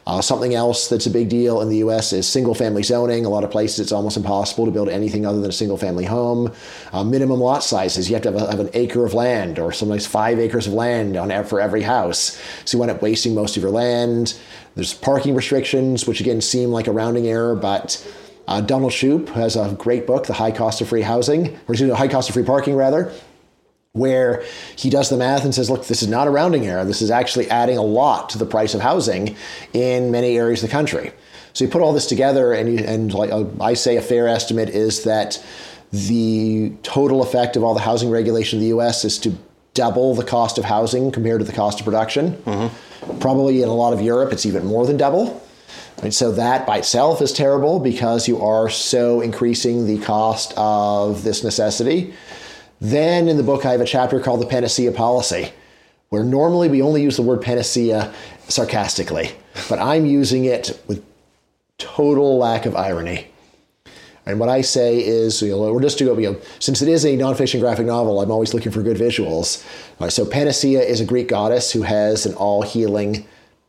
Something else that's a big deal in the U.S. is single-family zoning. A lot of places it's almost impossible to build anything other than a single-family home. Minimum lot sizes. You have to have an acre of land, or sometimes 5 acres of land for every house. So you end up wasting most of your land. There's parking restrictions, which again seem like a rounding error, but Donald Shoup has a great book, The High Cost of Free Housing, or High Cost of Free Parking, rather, where he does the math and says, look, this is not a rounding error. This is actually adding a lot to the price of housing in many areas of the country. So you put all this together, and like I say, a fair estimate is that the total effect of all the housing regulation in the U.S. is to double the cost of housing compared to the cost of production. Mm-hmm. Probably in a lot of Europe, it's even more than double. And so that by itself is terrible because you are so increasing the cost of this necessity. Then in the book, I have a chapter called The Panacea Policy, where normally we only use the word panacea sarcastically, but I'm using it with total lack of irony. And what I say is, we're just to go, since it is a nonfiction graphic novel, I'm always looking for good visuals. So Panacea is a Greek goddess who has an all-healing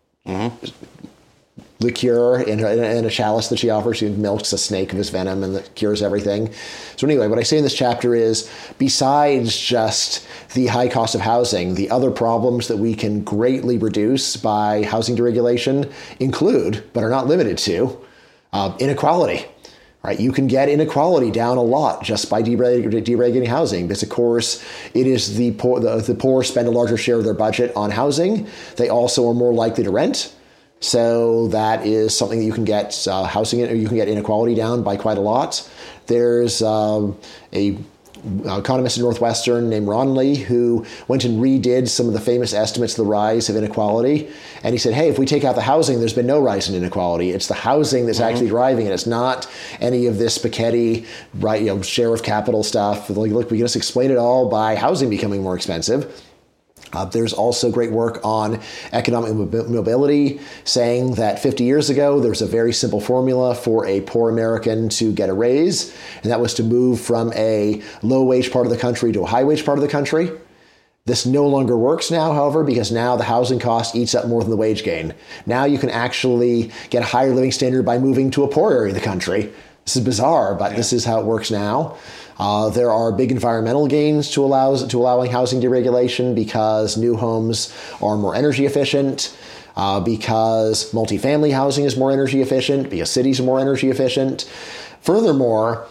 liqueur in a chalice that she offers. She milks a snake of his venom and that cures everything. So anyway, what I say in this chapter is, besides just the high cost of housing, the other problems that we can greatly reduce by housing deregulation include, but are not limited to, inequality. Right, you can get inequality down a lot just by deregulating housing, because of course it is the poor spend a larger share of their budget on housing. They also are more likely to rent. So that is something that you can get you can get inequality down by quite a lot. There's a economist at Northwestern named Ron Lee who went and redid some of the famous estimates of the rise of inequality. And he said, hey, if we take out the housing, there's been no rise in inequality. It's the housing that's actually driving it. It's not any of this Piketty, share of capital stuff. Like, look, we can just explain it all by housing becoming more expensive. There's also great work on economic mobility, saying that 50 years ago, there was a very simple formula for a poor American to get a raise, and that was to move from a low-wage part of the country to a high-wage part of the country. This no longer works now, however, because now the housing cost eats up more than the wage gain. Now you can actually get a higher living standard by moving to a poor area of the country. This is bizarre, but this is how it works now. There are big environmental gains to allowing housing deregulation because new homes are more energy efficient, because multifamily housing is more energy efficient, because cities are more energy efficient. Furthermore,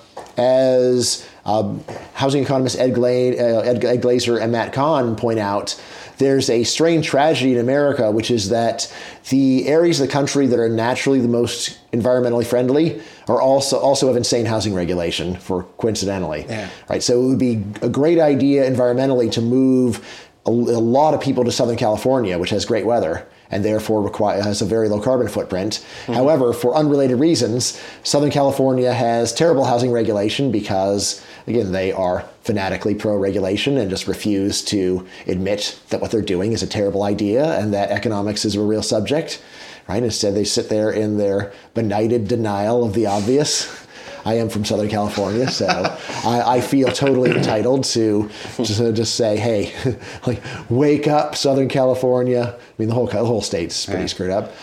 as housing economists Ed Glazer and Matt Kahn point out, there's a strange tragedy in America, which is that the areas of the country that are naturally the most environmentally friendly are also have insane housing regulation, coincidentally. Yeah. Right? So it would be a great idea environmentally to move a lot of people to Southern California, which has great weather and therefore has a very low carbon footprint. Mm-hmm. However, for unrelated reasons, Southern California has terrible housing regulation because, again, they are fanatically pro-regulation and just refuse to admit that what they're doing is a terrible idea and that economics is a real subject. Right? Instead, they sit there in their benighted denial of the obvious. I am from Southern California, so I feel totally entitled to just say, hey, like, wake up, Southern California. I mean, the whole state's pretty screwed up.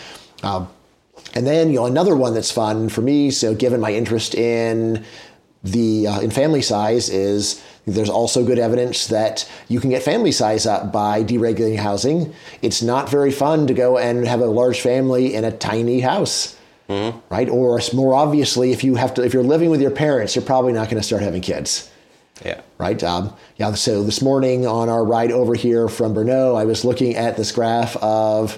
And then, another one that's fun for me, so given my interest in in family size, is there's also good evidence that you can get family size up by deregulating housing. It's not very fun to go and have a large family in a tiny house. Mm-hmm. Right? Or more obviously, if you're living with your parents, you're probably not going to start having kids. Yeah. Right? So this morning on our ride over here from Brno, I was looking at this graph of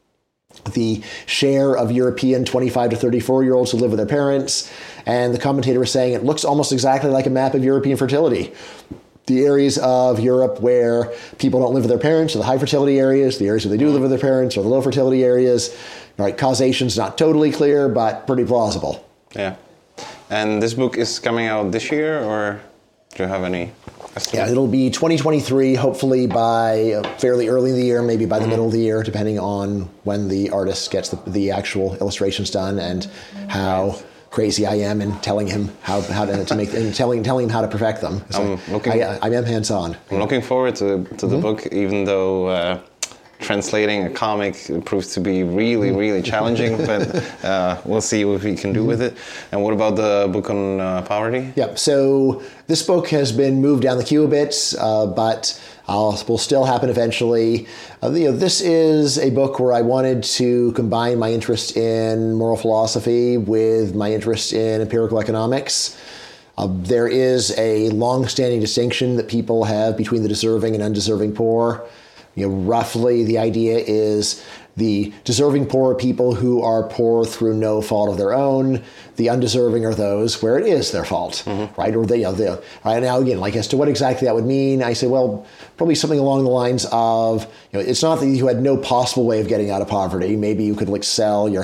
the share of European 25 to 34-year-olds who live with their parents. And the commentator was saying it looks almost exactly like a map of European fertility. The areas of Europe where people don't live with their parents are the high fertility areas. The areas where they do live with their parents are the low fertility areas. Right, causation's not totally clear, but pretty plausible. Yeah. And this book is coming out this year, or do you have any estimate? Yeah, it'll be 2023, hopefully by fairly early in the year, maybe by the middle of the year, depending on when the artist gets the actual illustrations done and how crazy I am in telling him how to make and telling him how to perfect them. I am hands-on. I'm looking forward to the book, even though translating a comic proves to be really, really challenging, but we'll see what we can do with it. And what about the book on poverty? Yep. So this book has been moved down the queue a bit, but will still happen eventually. This is a book where I wanted to combine my interest in moral philosophy with my interest in empirical economics. There is a long-standing distinction that people have between the deserving and undeserving poor. Roughly the idea is the deserving poor are people who are poor through no fault of their own. The undeserving are those where it is their fault, right? Or right now, again, like as to what exactly that would mean, I say, well, probably something along the lines of, it's not that you had no possible way of getting out of poverty. Maybe you could like sell your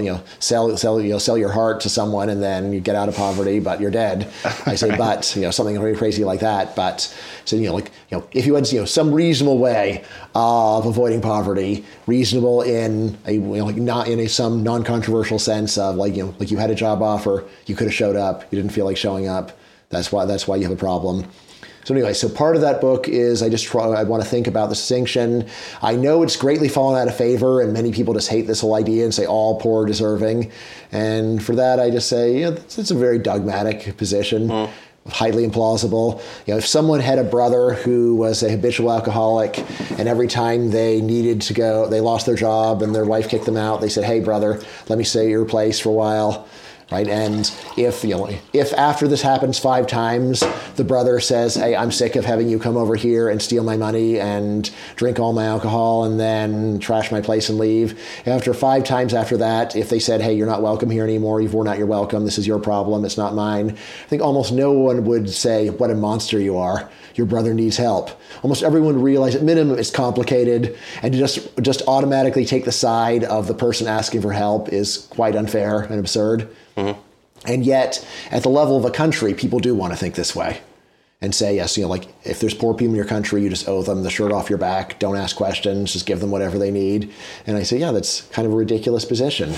heart to someone and then you get out of poverty, but you're dead. I say, but something very crazy like that. But so if you had some reasonable way of avoiding poverty, reasonable in a not in some non-controversial sense of like you had a job offer, you could have showed up, you didn't feel like showing up. That's why you have a problem. So anyway, so part of that book is I want to think about the distinction. I know it's greatly fallen out of favor, and many people just hate this whole idea and say all poor are deserving. And for that, I just say it's a very dogmatic position. Highly implausible. If someone had a brother who was a habitual alcoholic and every time they needed to go, they lost their job and their wife kicked them out, they said, hey, brother, let me stay at your place for a while. Right. And if after this happens 5 times, the brother says, hey, I'm sick of having you come over here and steal my money and drink all my alcohol and then trash my place and leave. After 5 times after that, if they said, hey, you're not welcome here anymore, you've worn out your welcome, this is your problem, it's not mine, I think almost no one would say, what a monster you are. Your brother needs help. Almost everyone would realize at minimum it's complicated, and to just automatically take the side of the person asking for help is quite unfair and absurd. And yet, at the level of a country, people do want to think this way and say, yes, if there's poor people in your country, you just owe them the shirt off your back. Don't ask questions. Just give them whatever they need. And I say, yeah, that's kind of a ridiculous position.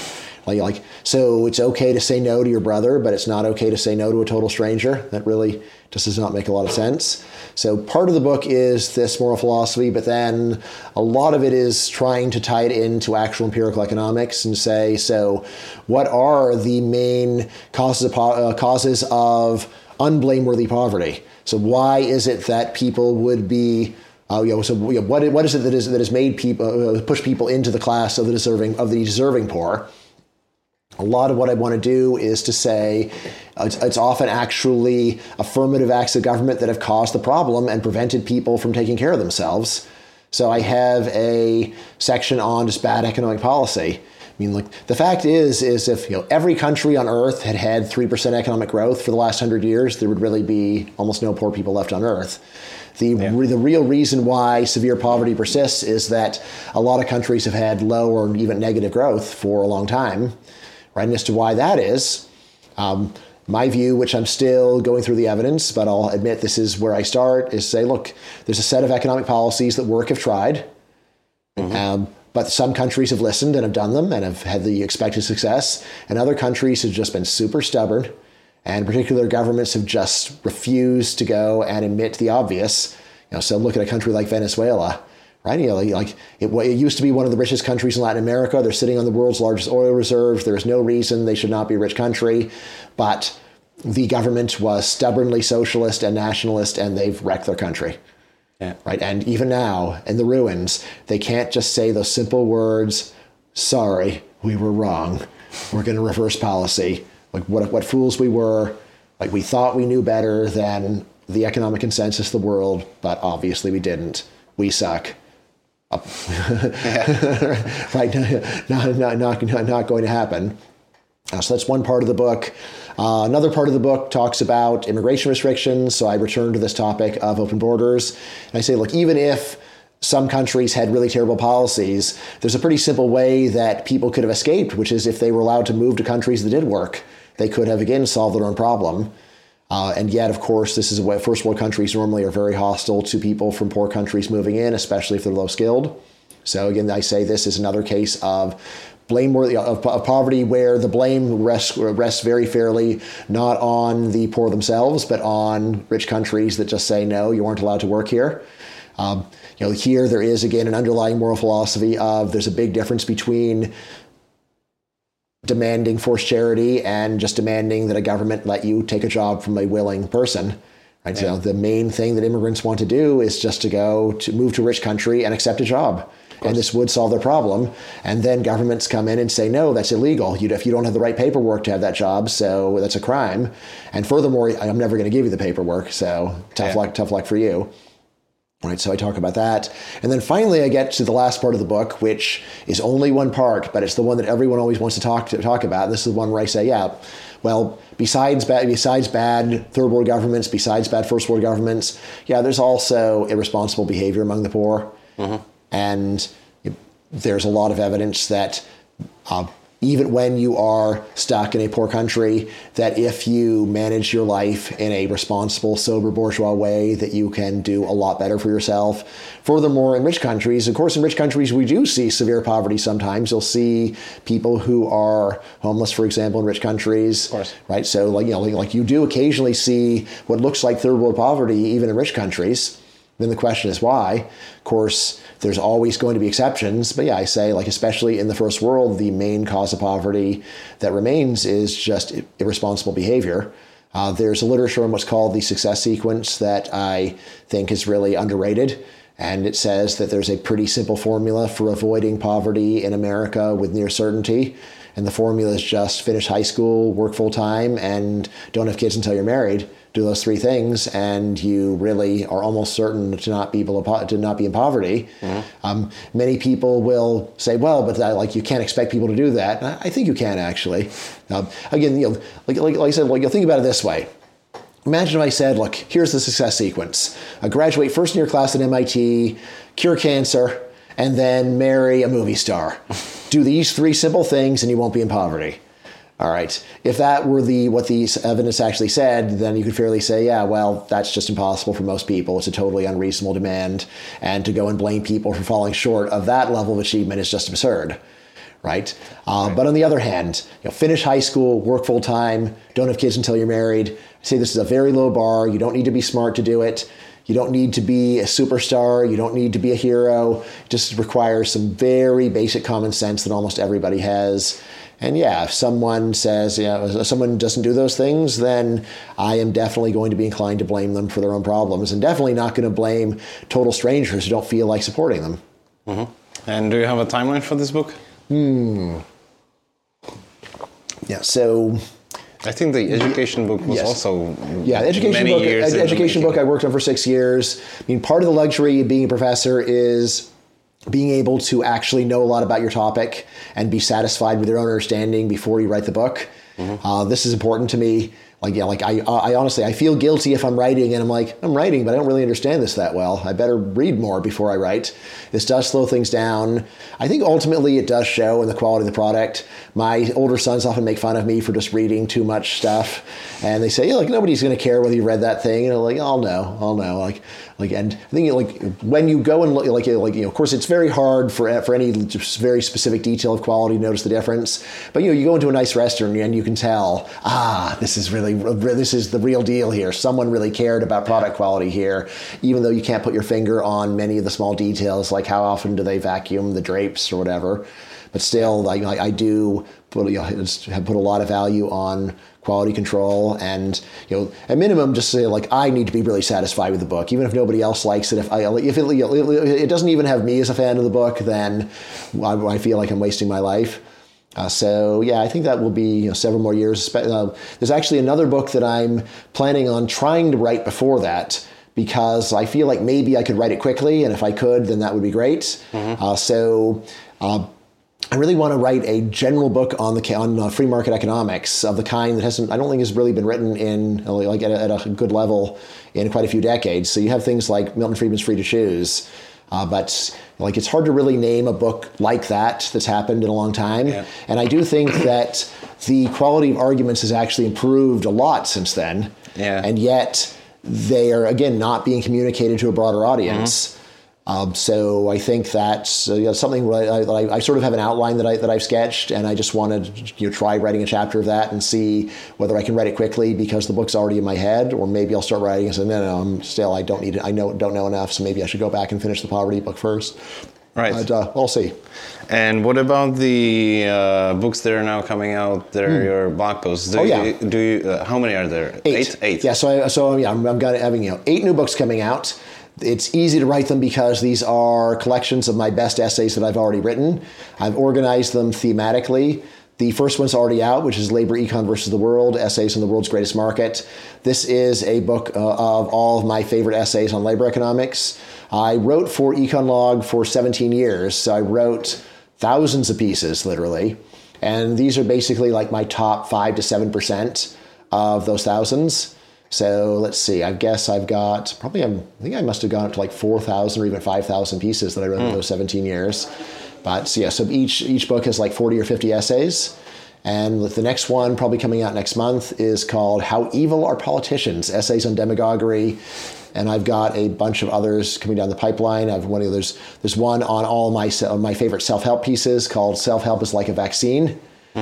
So it's okay to say no to your brother, but it's not okay to say no to a total stranger. That really just does not make a lot of sense. So part of the book is this moral philosophy, but then a lot of it is trying to tie it into actual empirical economics and say, so what are the main causes of unblameworthy poverty? So why is it that people would be what is it that has made people push people into the class of the deserving poor? A lot of what I want to do is to say it's often actually affirmative acts of government that have caused the problem and prevented people from taking care of themselves. So I have a section on just bad economic policy. The fact is if every country on Earth had 3% economic growth for the last 100 years, there would really be almost no poor people left on Earth. The real reason why severe poverty persists is that a lot of countries have had low or even negative growth for a long time. Right, and as to why that is, my view, which I'm still going through the evidence, but I'll admit this is where I start, is say, look, there's a set of economic policies that have tried, but some countries have listened and have done them and have had the expected success, and other countries have just been super stubborn, and particular governments have just refused to go and admit the obvious. So look at a country like Venezuela. Right, it used to be one of the richest countries in Latin America. They're sitting on the world's largest oil reserves. There's no reason they should not be a rich country, but the government was stubbornly socialist and nationalist, and they've wrecked their country. Yeah. Right, and even now, in the ruins, they can't just say those simple words, sorry, we were wrong. We're going to reverse policy. What fools we were. We thought we knew better than the economic consensus of the world, but obviously we didn't. We suck. Right, not going to happen. So that's one part of the book. Another part of the book talks about immigration restrictions. So I return to this topic of open borders. And I say, look, even if some countries had really terrible policies, there's a pretty simple way that people could have escaped, which is if they were allowed to move to countries that did work, they could have, again, solved their own problem. And yet, of course, this is what first world countries normally are very hostile to people from poor countries moving in, especially if they're low skilled. So again, I say this is another case of blameworthy of poverty where the blame rests very fairly not on the poor themselves, but on rich countries that just say, no, you aren't allowed to work here. Here there is, again, an underlying moral philosophy of there's a big difference between demanding forced charity and just demanding that a government let you take a job from a willing person. Right? Yeah. So the main thing that immigrants want to do is just to move to a rich country and accept a job. And this would solve their problem. And then governments come in and say, no, that's illegal. If you don't have the right paperwork to have that job, so that's a crime. And furthermore, I'm never going to give you the paperwork. So tough luck for you. Right, so I talk about that. And then finally, I get to the last part of the book, which is only one part, but it's the one that everyone always wants to talk about. This is the one where I say, besides bad third world governments, besides bad first world governments, there's also irresponsible behavior among the poor. Mm-hmm. And there's a lot of evidence that even when you are stuck in a poor country, that if you manage your life in a responsible, sober, bourgeois way, that you can do a lot better for yourself. Furthermore, in rich countries, of course, we do see severe poverty sometimes. You'll see people who are homeless, for example, in rich countries. Of course. Right? So, like you do occasionally see what looks like third world poverty, even in rich countries. Then the question is why? Of course, there's always going to be exceptions. But I say, especially in the first world, the main cause of poverty that remains is just irresponsible behavior. There's a literature on what's called the success sequence that I think is really underrated. And it says that there's a pretty simple formula for avoiding poverty in America with near certainty. And the formula is just finish high school, work full time, and don't have kids until you're married. Do those three things, and you really are almost certain to not be in poverty. Mm-hmm. Many people will say, "Well, but you can't expect people to do that." And I think you can actually. Again, like I said, you'll think about it this way. Imagine if I said, "Look, here's the success sequence: graduate first in your class at MIT, cure cancer, and then marry a movie star. Do these three simple things, and you won't be in poverty." All right. If that were what the evidence actually said, then you could fairly say, that's just impossible for most people. It's a totally unreasonable demand. And to go and blame people for falling short of that level of achievement is just absurd. Right? But on the other hand, finish high school, work full time, don't have kids until you're married. I say this is a very low bar. You don't need to be smart to do it. You don't need to be a superstar. You don't need to be a hero. It just requires some very basic common sense that almost everybody has. And if someone says, if someone doesn't do those things, then I am definitely going to be inclined to blame them for their own problems, and definitely not going to blame total strangers who don't feel like supporting them. Mm-hmm. And do you have a timeline for this book? Yeah, so I think the education book was also the education book I worked on for 6 years. I mean, part of the luxury of being a professor is being able to actually know a lot about your topic and be satisfied with your own understanding before you write the book. Mm-hmm. This is important to me. I honestly, I feel guilty if I'm writing and I'm writing, but I don't really understand this that well. I better read more before I write. This does slow things down. I think ultimately it does show in the quality of the product. My older sons often make fun of me for just reading too much stuff. And they say, nobody's going to care whether you read that thing. And I'm like, I'll know. And I think when you go and look, of course, it's very hard for any very specific detail of quality to notice the difference. But you go into a nice restaurant and you can tell, this is the real deal here. Someone really cared about product quality here, even though you can't put your finger on many of the small details, like how often do they vacuum the drapes or whatever. But still, I do put a lot of value on quality control, and at minimum, just say I need to be really satisfied with the book, even if nobody else likes it. If it doesn't even have me as a fan of the book, then I feel like I'm wasting my life. I think that will be several more years. There's actually another book that I'm planning on trying to write before that, because I feel like maybe I could write it quickly, and if I could, then that would be great. Mm-hmm. I really want to write a general book on free market economics of the kind that I don't think has really been written in at a good level in quite a few decades. So you have things like Milton Friedman's Free to Choose, but it's hard to really name a book like that's happened in a long time. Yeah. And I do think that the quality of arguments has actually improved a lot since then. Yeah. And yet they are, again, not being communicated to a broader audience. Mm-hmm. So I think that's something that I sort of have an outline that I've sketched, and I just want to try writing a chapter of that and see whether I can write it quickly because the book's already in my head, or maybe I'll start writing and say, no, I don't need it. Don't know enough, so maybe I should go back and finish the poverty book first. Right. But we'll see. And what about the books that are now coming out? They're your blog posts. Do you, how many are there? Eight. Yeah. So I'm having 8 new books coming out. It's easy to write them because these are collections of my best essays that I've already written. I've organized them thematically. The first one's already out, which is Labor Econ versus the World, Essays on the World's Greatest Market. This is a book of all of my favorite essays on labor economics. I wrote for EconLog for 17 years, so I wrote thousands of pieces, literally. And these are basically like my top 5 to 7% of those thousands. So let's see, I guess I've got I think I must have gone up to like 4,000 or even 5,000 pieces that I wrote in those 17 years. But so each book has like 40 or 50 essays. And the next one, probably coming out next month, is called How Evil Are Politicians? Essays on Demagoguery. And I've got a bunch of others coming down the pipeline. There's one on all my favorite self-help pieces called Self-Help is Like a Vaccine.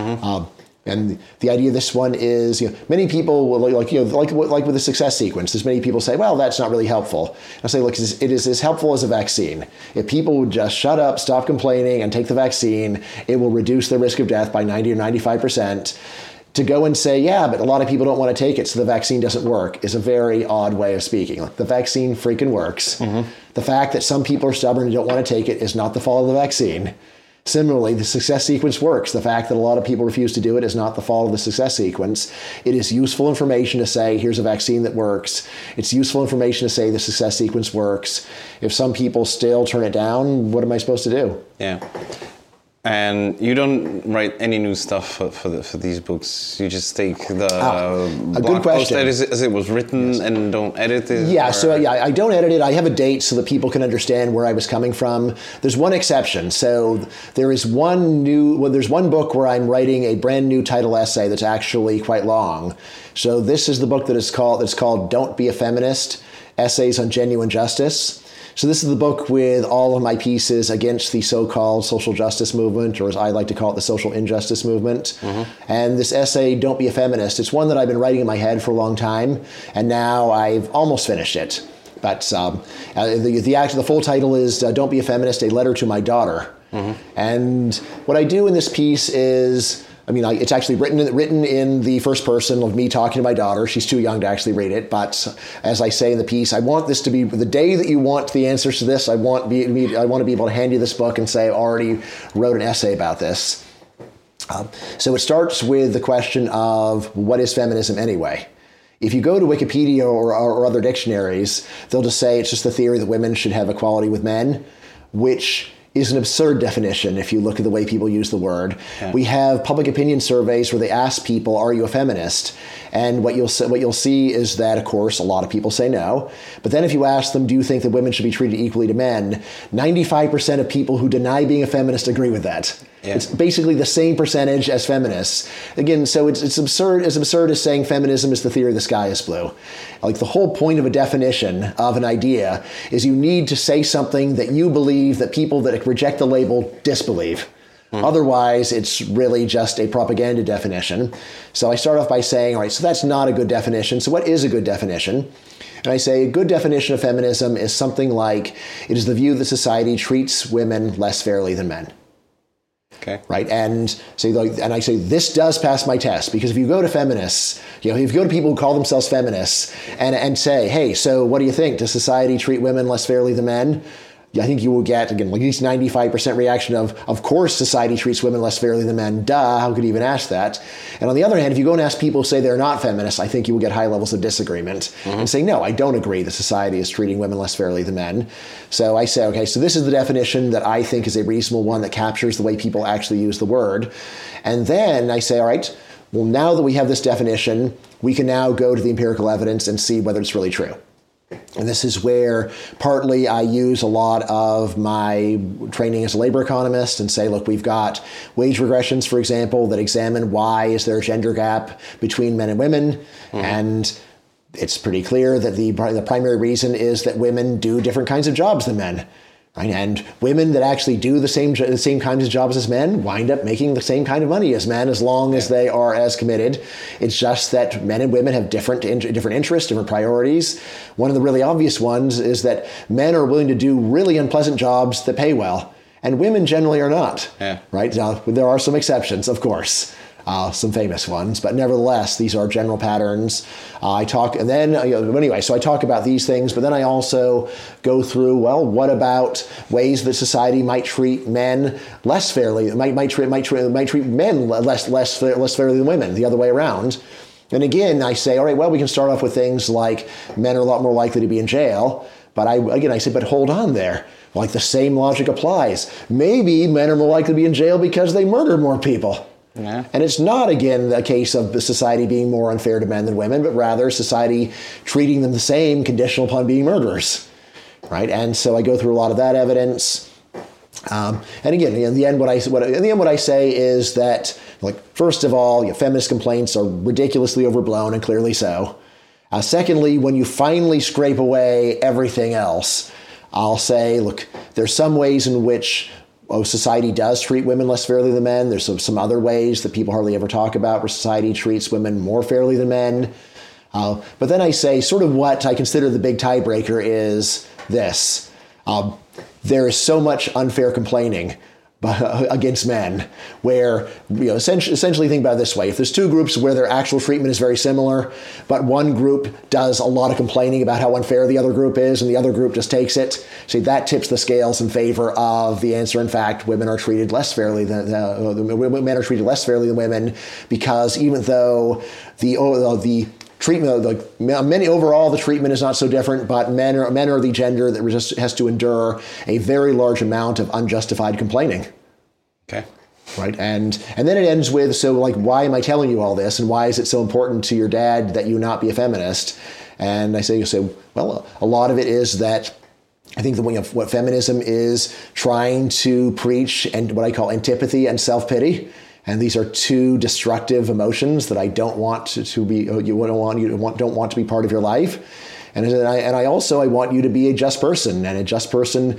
And the idea of this one is, many people will like with the success sequence. There's many people say, well, that's not really helpful. I say, look, it is as helpful as a vaccine. If people would just shut up, stop complaining, and take the vaccine, it will reduce the risk of death by 90 or 95%. To go and say, yeah, but a lot of people don't want to take it, so the vaccine doesn't work, is a very odd way of speaking. The vaccine freaking works. The fact that some people are stubborn and don't want to take it is not the fault of the vaccine. Similarly, the success sequence works. The fact that a lot of people refuse to do it is not the fault of the success sequence. It is useful information to say, here's a vaccine that works. It's useful information to say the success sequence works. If some people still turn it down, what am I supposed to do? Yeah. And you don't write any new stuff for these books. You just take the blog post as it was written and don't edit it. Yeah, I don't edit it. I have a date so that people can understand where I was coming from. There's one exception. So there's one book where I'm writing a brand new title essay that's actually quite long. So this is the book that's called Don't Be a Feminist: Essays on Genuine Justice. So this is the book with all of my pieces against the so-called social justice movement, or as I like to call it, the social injustice movement. And this essay, Don't Be a Feminist, it's one that I've been writing in my head for a long time, and now I've almost finished it. But the full title is Don't Be a Feminist, A Letter to My Daughter. And what I do in this piece is, it's actually written in the first person of me talking to my daughter. She's too young to actually read it. But as I say in the piece, I want this to be the day that you want the answers to this. I want to be able to hand you this book and say, I already wrote an essay about this. So it starts with the question of what is feminism anyway? If you go to Wikipedia or other dictionaries, they'll just say it's just the theory that women should have equality with men, which is an absurd definition if you look at the way people use the word. Yeah. We have public opinion surveys where they ask people, are you a feminist? And what you'll see is that, of course, a lot of people say no. But then if you ask them, do you think that women should be treated equally to men? 95% of people who deny being a feminist agree with that. Yeah. It's basically the same percentage as feminists. Again, so it's absurd as saying feminism is the theory the sky is blue. Like, the whole point of a definition of an idea is you need to say something that you believe that people that reject the label disbelieve. Otherwise, it's really just a propaganda definition. So I start off by saying, all right, so that's not a good definition. So what is a good definition? And I say a good definition of feminism is something like, it is the view that society treats women less fairly than men. Okay. Right. And I say this does pass my test, because if you go to feminists, if you go to people who call themselves feminists and say, hey, so what do you think? Does society treat women less fairly than men? I think you will get, again, at least 95% reaction of course society treats women less fairly than men. Duh, how could you even ask that? And on the other hand, if you go and ask people who say they're not feminists, I think you will get high levels of disagreement and say, no, I don't agree that society is treating women less fairly than men. So I say, okay, so this is the definition that I think is a reasonable one that captures the way people actually use the word. And then I say, all right, well, now that we have this definition, we can now go to the empirical evidence and see whether it's really true. And this is where partly I use a lot of my training as a labor economist and say, look, we've got wage regressions, for example, that examine why is there a gender gap between men and women. And it's pretty clear that the primary reason is that women do different kinds of jobs than men. Right? And women that actually do the same kinds of jobs as men wind up making the same kind of money as men, as long as they are as committed. It's just that men and women have different interests, different priorities. One of the really obvious ones is that men are willing to do really unpleasant jobs that pay well, and women generally are not. Yeah. Right? Now, there are some exceptions, of course. Some famous ones, but nevertheless, these are general patterns. I talk about these things, but then I also go through, well, what about ways that society might treat men less fairly? Might treat men less fairly than women, the other way around. And again, I say, all right, well, we can start off with things like men are a lot more likely to be in jail. But I say, but hold on there. Like the same logic applies. Maybe men are more likely to be in jail because they murder more people. Yeah. And it's not, again, a case of the society being more unfair to men than women, but rather society treating them the same, conditional upon being murderers, right? And so I go through a lot of that evidence. And again, in the end, what I say is that, like, first of all, feminist complaints are ridiculously overblown, and clearly so. Secondly, when you finally scrape away everything else, I'll say, look, there's some ways in which society does treat women less fairly than men. There's some other ways that people hardly ever talk about where society treats women more fairly than men. But then I say sort of what I consider the big tiebreaker is this. There is so much unfair complaining against men where, essentially think about it this way. If there's two groups where their actual treatment is very similar, but one group does a lot of complaining about how unfair the other group is and the other group just takes it, see, that tips the scales in favor of the answer. In fact, women are treated less fairly than men are treated less fairly than women, because even though the treatment, overall, the treatment is not so different, but men are the gender that has to endure a very large amount of unjustified complaining. Okay. Right, and then it ends with, so like, why am I telling you all this, and why is it so important to your dad that you not be a feminist? And I say, well, a lot of it is that I think what feminism is trying to preach, and what I call antipathy and self-pity. And these are two destructive emotions that I don't want to be. You don't want to be part of your life. And I want you to be a just person. And a just person,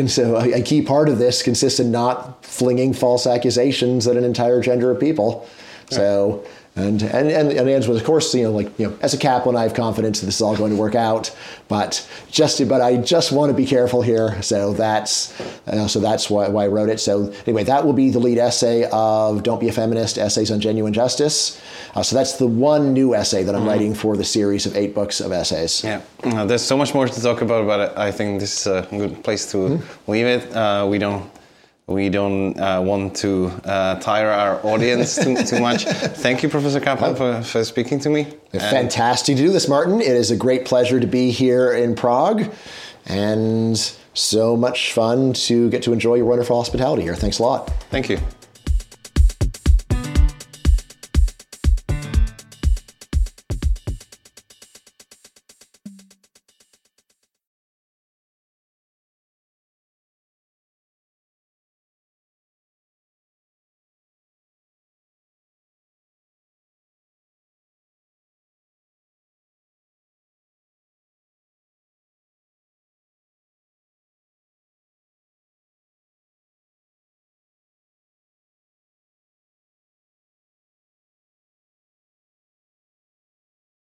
a key part of this consists in not flinging false accusations at an entire gender of people. Right. So. And it ends with, of course, as a Kaplan, I have confidence that this is all going to work out. But I just want to be careful here. So that's why I wrote it. So anyway, that will be the lead essay of Don't Be a Feminist: Essays on Genuine Justice. So that's the one new essay that I'm writing for the series of 8 books of essays. Yeah, there's so much more to talk about, but I think this is a good place to leave it. We don't want to tire our audience too much. Thank you, Professor Kaplan, for speaking to me. Fantastic to do this, Martin. It is a great pleasure to be here in Prague, and so much fun to get to enjoy your wonderful hospitality here. Thanks a lot. Thank you.